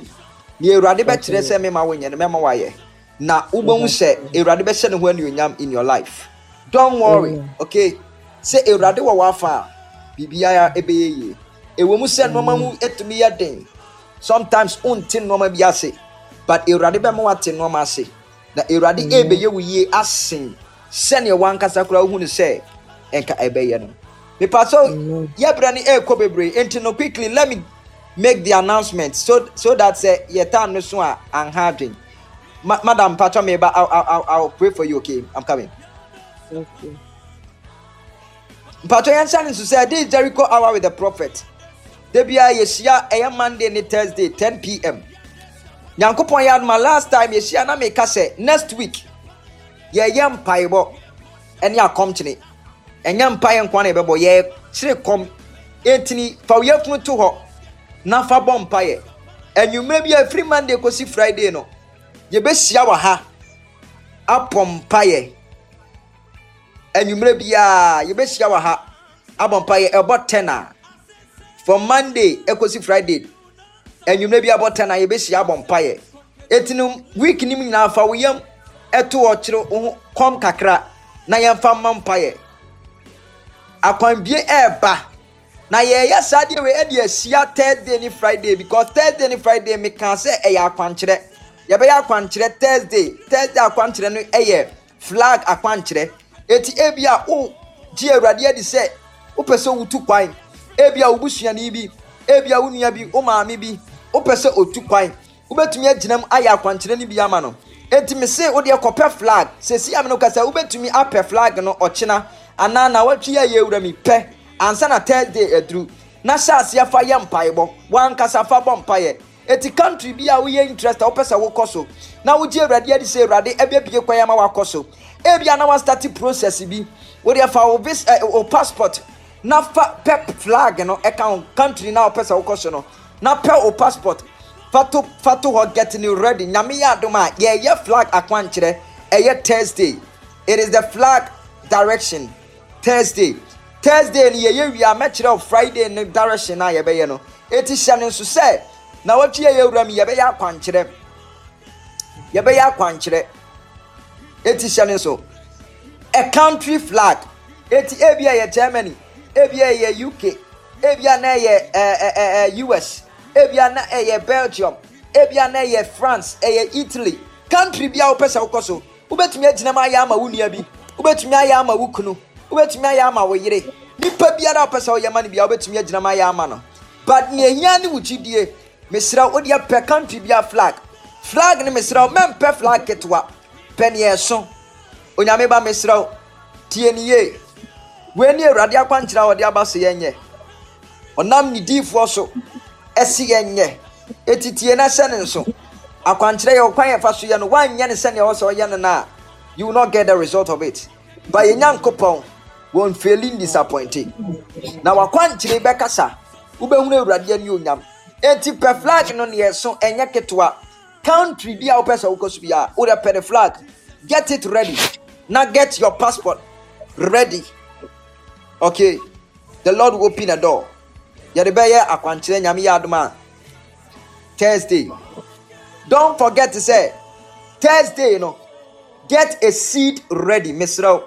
Na ubon se erade be se ne ho anuonyam in your life. Don't worry, okay? Say erade wa wafa bibia ebeye ewo mu se no mamu etumi ya den. Sometimes untin no ma bia se, but erade be ma wate no ma se. Na erade ebeye wo ye asen se ne wankasa kura hu ne se enka ebeye no. Me paso ya brani ekọ bebre enti no quickly let me make the announcement so that say ye tan no so a anhadwen. Madam Pacha Meba, I'll pray for you, okay? I'm coming. Okay. Pacha Yansan is to say, this is Jericho hour with the prophet. Debia Yesia, a Monday and Thursday, 10 p.m. Yankopon Yad, my last time, Yesia, na make us say next week. ye yam paibo ene akomchene enya mpaye nkwa na ebebo ye chire kom etini fa yefunu to ho na fa bom mpaye enwumre bia free Monday kosi Friday no ye besia wa ha apom mpaye enwumre bia ye besia wa ha abom mpaye ebo 10 from Monday ekosi Friday enwumre bia ebo 10 ye besia abom mpaye etinu week nim nyina fa woyam eto wo chire kom kakra na yemfa mampaye akwanbie eba na ye sade we e de sia Thursday ni Friday because Thursday ni Friday me kan say e ya akwankyere ye be ya akwankyere Thursday akwankyere no e flag akwankyere eti ebia o ji awrade adi say o pese wutu kwan ebia obusua ni bi ebia wunua bi o maame bi o pese otu kwan ubetumi aginam aya akwankyere ni bi ama no eti me say o de kope flag se si am no kasa ubetumi ape flag no ochina anana watwi ya yewura mi pe ansa na Thursday edru na shase afa ye mpaibo wan kasa fa bom paye eti country bia wo ye interest o pesa wo koso na wo ji awrade adi say awrade ebebie kwaya ma wakoso ebia na wa start process bi wo de fa wo vis o passport na fa pep flag no account country na o pesa wo koso no na pe o passport fato ho getting you ready nyame ya adoma ye flag akwankyere eye Thursday. It is the flag direction Thursday ni ye wi amekere of Friday ni direction na ye be ye no eti hye ne so say na watwe ye wura mi ye be ya akwankyere eti hye ne so a country flag eti ebia ye Germany ebia ye UK ebia na ye US ebia na ye Belgium ebia na ye France ye Italy country bia opesa ukoso ubetumi agina ma ya ama wunia bi ubetumi aya ama wukunu ubetumi aya ama woyire nipa biara opesa o yama ne bia ubetumi agina ma ya ama no but ne ehia ne wugidie mesra odi ape country bia flag ne mesra mempe flag ketwa pen yeso onyame ba mesra tie ne ye we ni awrade akwankyira odi abase yenye onam ni difo so esi yenye etitie na sene nso akwankyere ye okwan ye faso ye no wanye ne sene ye so ye na you will not get the result of it by nyankopon won't feeling disappointed na wakwankyere be kasa ubehunu awrade ani onyam enti pe flag no ne yeso enye ketwa country bia opesa ukosu bia o de pe the flag get it ready now get your passport ready. Okay, the Lord will open a door. Yadebeye akwankyere nyame yadoma Thursday. Don't forget to say Thursday, you know, get a seed ready, Mr.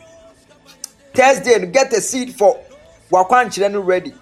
Thursday, get a seed for wakwankyere ready.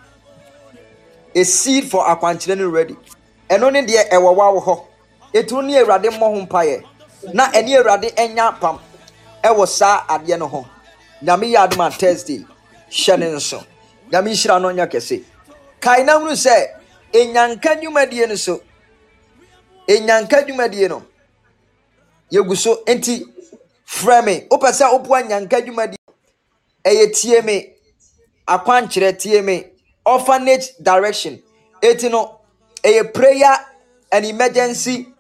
A seed for akwankyere ready. And only the ewawa ho. Etuni awrade mo ho mpaye. Na eni awrade enya pam. Ewo sa ade no ho. Nyame yadoma Thursday. Shanenso. Nyame shira no nya kese. Kaina hunu se enyanka dwumadie no so. Enyanka dwumadie no. Yeguso enti frame. Opesa opwa nyanka dwumadie. Eye tie me. Akwankyere tie me. Orphanage direction. Eti no eye prayer and emergency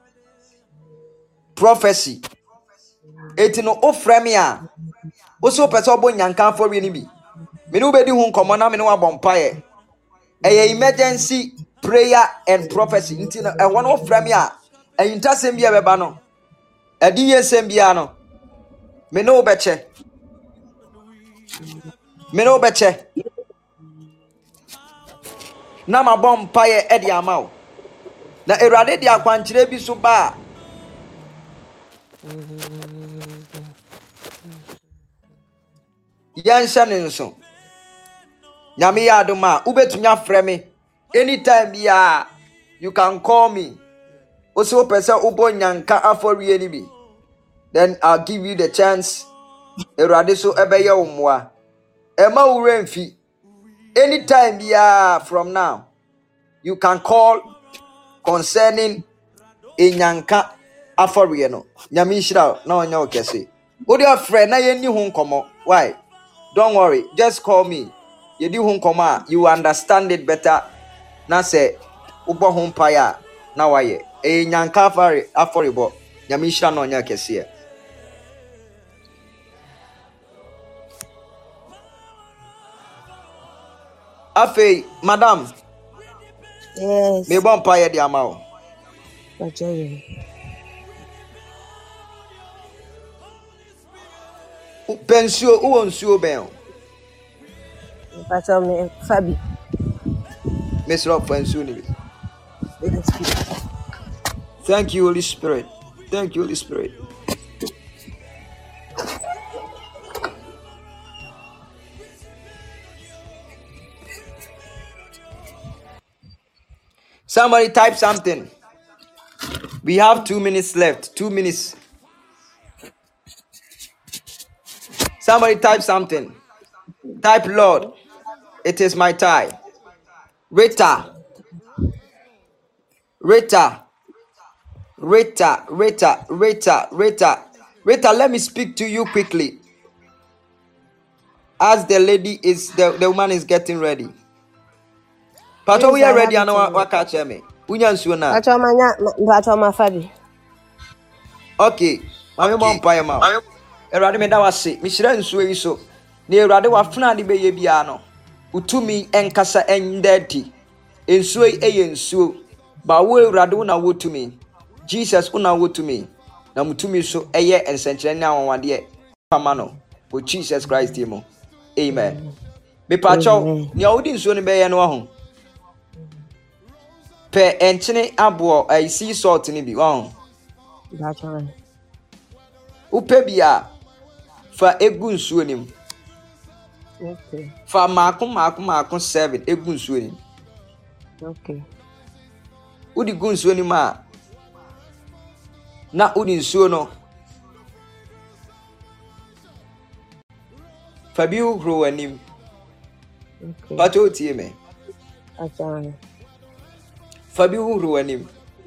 prophecy. Eti no o frame a. Oso opesa obo nyanka afori ni bi. Me no bedi hu nkomo na me no abompaye. Emergency prayer and prophecy. Nti no e wono frame a entasem bia beba no. Edi yesem bia no. Me no beche. Na ma bompaye e di amawo. Na erade di akwankyere bi so ba. Yansha nenso. Nyame yadoma ubetumi afre me anytime bia you can call me. Also pesa ubo nyanka afori ni bi. Then I'll give you the chance. Erade so ebeye omwa. Ema uremfi. Anytime bia from now you can call concerning enyanka afori no. Nyame shira na onya okese. Odi afre na ye ni hu nkomo. Why? Don't worry, just call me. You do home koma, you understand it better. Na say ubo home paya na waye. E nyanka afori bo. Nyamishra no nya kese. Afei, madam, Yes. me bon paye di ama o. Pacho. Pensuo, uwo nsuo ben o. Pacho me Fabi. Mesro pensuo ni bi. Yes, please. Thank you, Holy Spirit. Thank you, Holy Spirit. Somebody type something. We have 2 minutes left. 2 minutes. Somebody type something. Type Lord. It is my time. Rita. Rita. Rita. Rita. Rita. Rita. Rita, let me speak to you quickly. As the lady is, the woman is getting ready. Pato, we Yes, are I ready. have I it know in what catch me. Unya nsuo na. Pacho ma Fabi. Okay. Mami mo mpa ma. Erade me da wase. Me hyira nsuo yi so. Na Erade wa funa de beye bia no. Utumi enkasa endeti. Nsuo yi eye nsuo. Ba wo Erade wo na wotumi. Jesus wo na wotumi. Na mutumi so eye ensenkyere ne awonwade pama no. For Jesus Christ mo. Amen. Me pacho ni awudi nsuo ne beye no ho. Pe enchene abo sea salt ni bi ho. Pacho. Upe bia fa egu nsuo nim. Okay. Fa maako 7 egu nsuo nim. Okay. Udi gu nsuo nim a na udi nsuo no fa bi uhro anim. Okay. Pato tie me. Pacho. Fa bi uhro anim.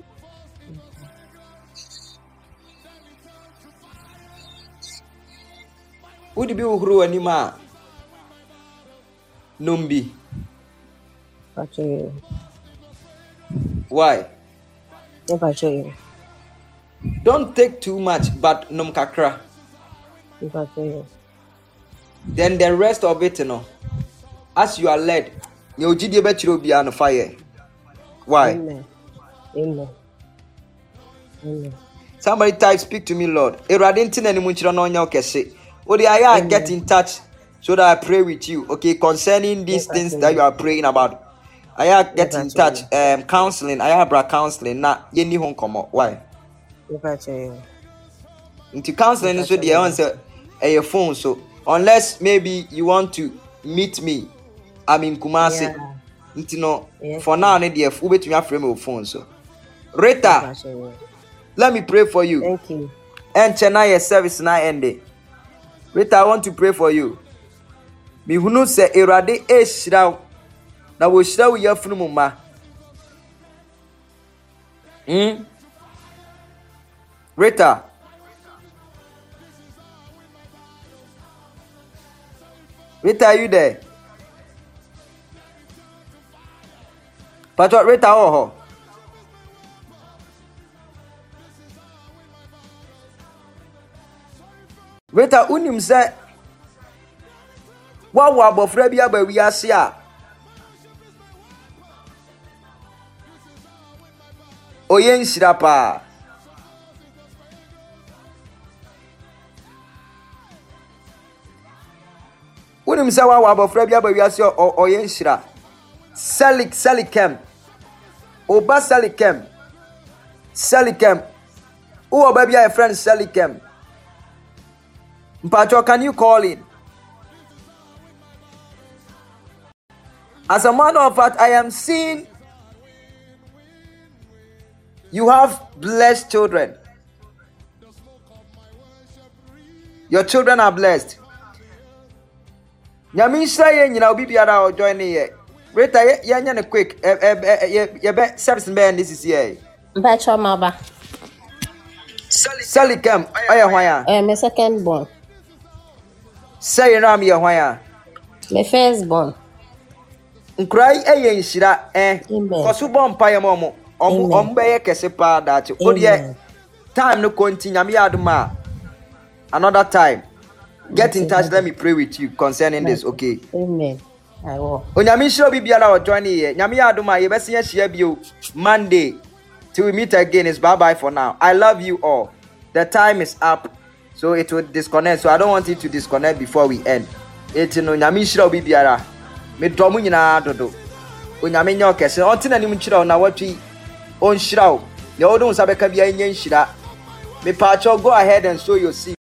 Udi bi uhro anim a numbi. Pacho. Why? Pacho. Don't take too much, but num kakra. Pacho. Then the rest of it, you know, as you are led, you GD bet be on fire. Why? Amen. Amen. Amen. Somebody type, speak to me, Lord. Eradintin and Munchira no nyokese. Odi I get in touch so that I pray with you. Okay, concerning these things that you are praying about. I get in touch. Counseling. I have counseling. Na yeni hon komo. Why? Pacho. Into counseling so the answer a phone. So unless maybe you want to meet me, I'm in Kumasi. Yeah. Into no Yes. for now, need the Ube to me frame of phone. So Rita, Pacho. let me pray for you. Thank you. And Chennai service na end. Rita, I want to pray for you. Me hunu se Erade e shiraw na wo shiraw ya funu mu ma. Rita. Rita, are you there? Pato Rita oho. Rita unim se wa abofra bi aba wi ase a oye nhyira pa. Unim se wa abofra bi aba wi ase oye nhyira. Selikem. Oba Selikem. Who oba bi a friend Selikem. Mpacho, can you call in? As a matter of fact, I am seeing you have blessed children. Your children are blessed. Nyamisha ye nyina obi biara o join ye. Rita ye nya quick. Ye be service be this is here. Pacho maba. Selikem, oya hwan My second born. Say ram ye hwan My first born. Nkrai eye nhyira Amen. koso bom paye mo be ye kese pa that odie time no continue me aduma another time get in touch. Let me pray with you concerning this. Okay, Amen. I will. Onyame shiro bibiara o join here. Nyame adoma ye bese ye share bio Monday. Till we meet again. It's bye for now. I love you all. The time is up. So it will disconnect. So I don't want it to disconnect before we end. Eti no nyame shiro bibiara. Me domu nyina dodo. Onyame nya okese. Ontina ni mchira na watwi on shira o. Ne odun sabeka bia nya nshira. Me pacho go ahead and sow your seed.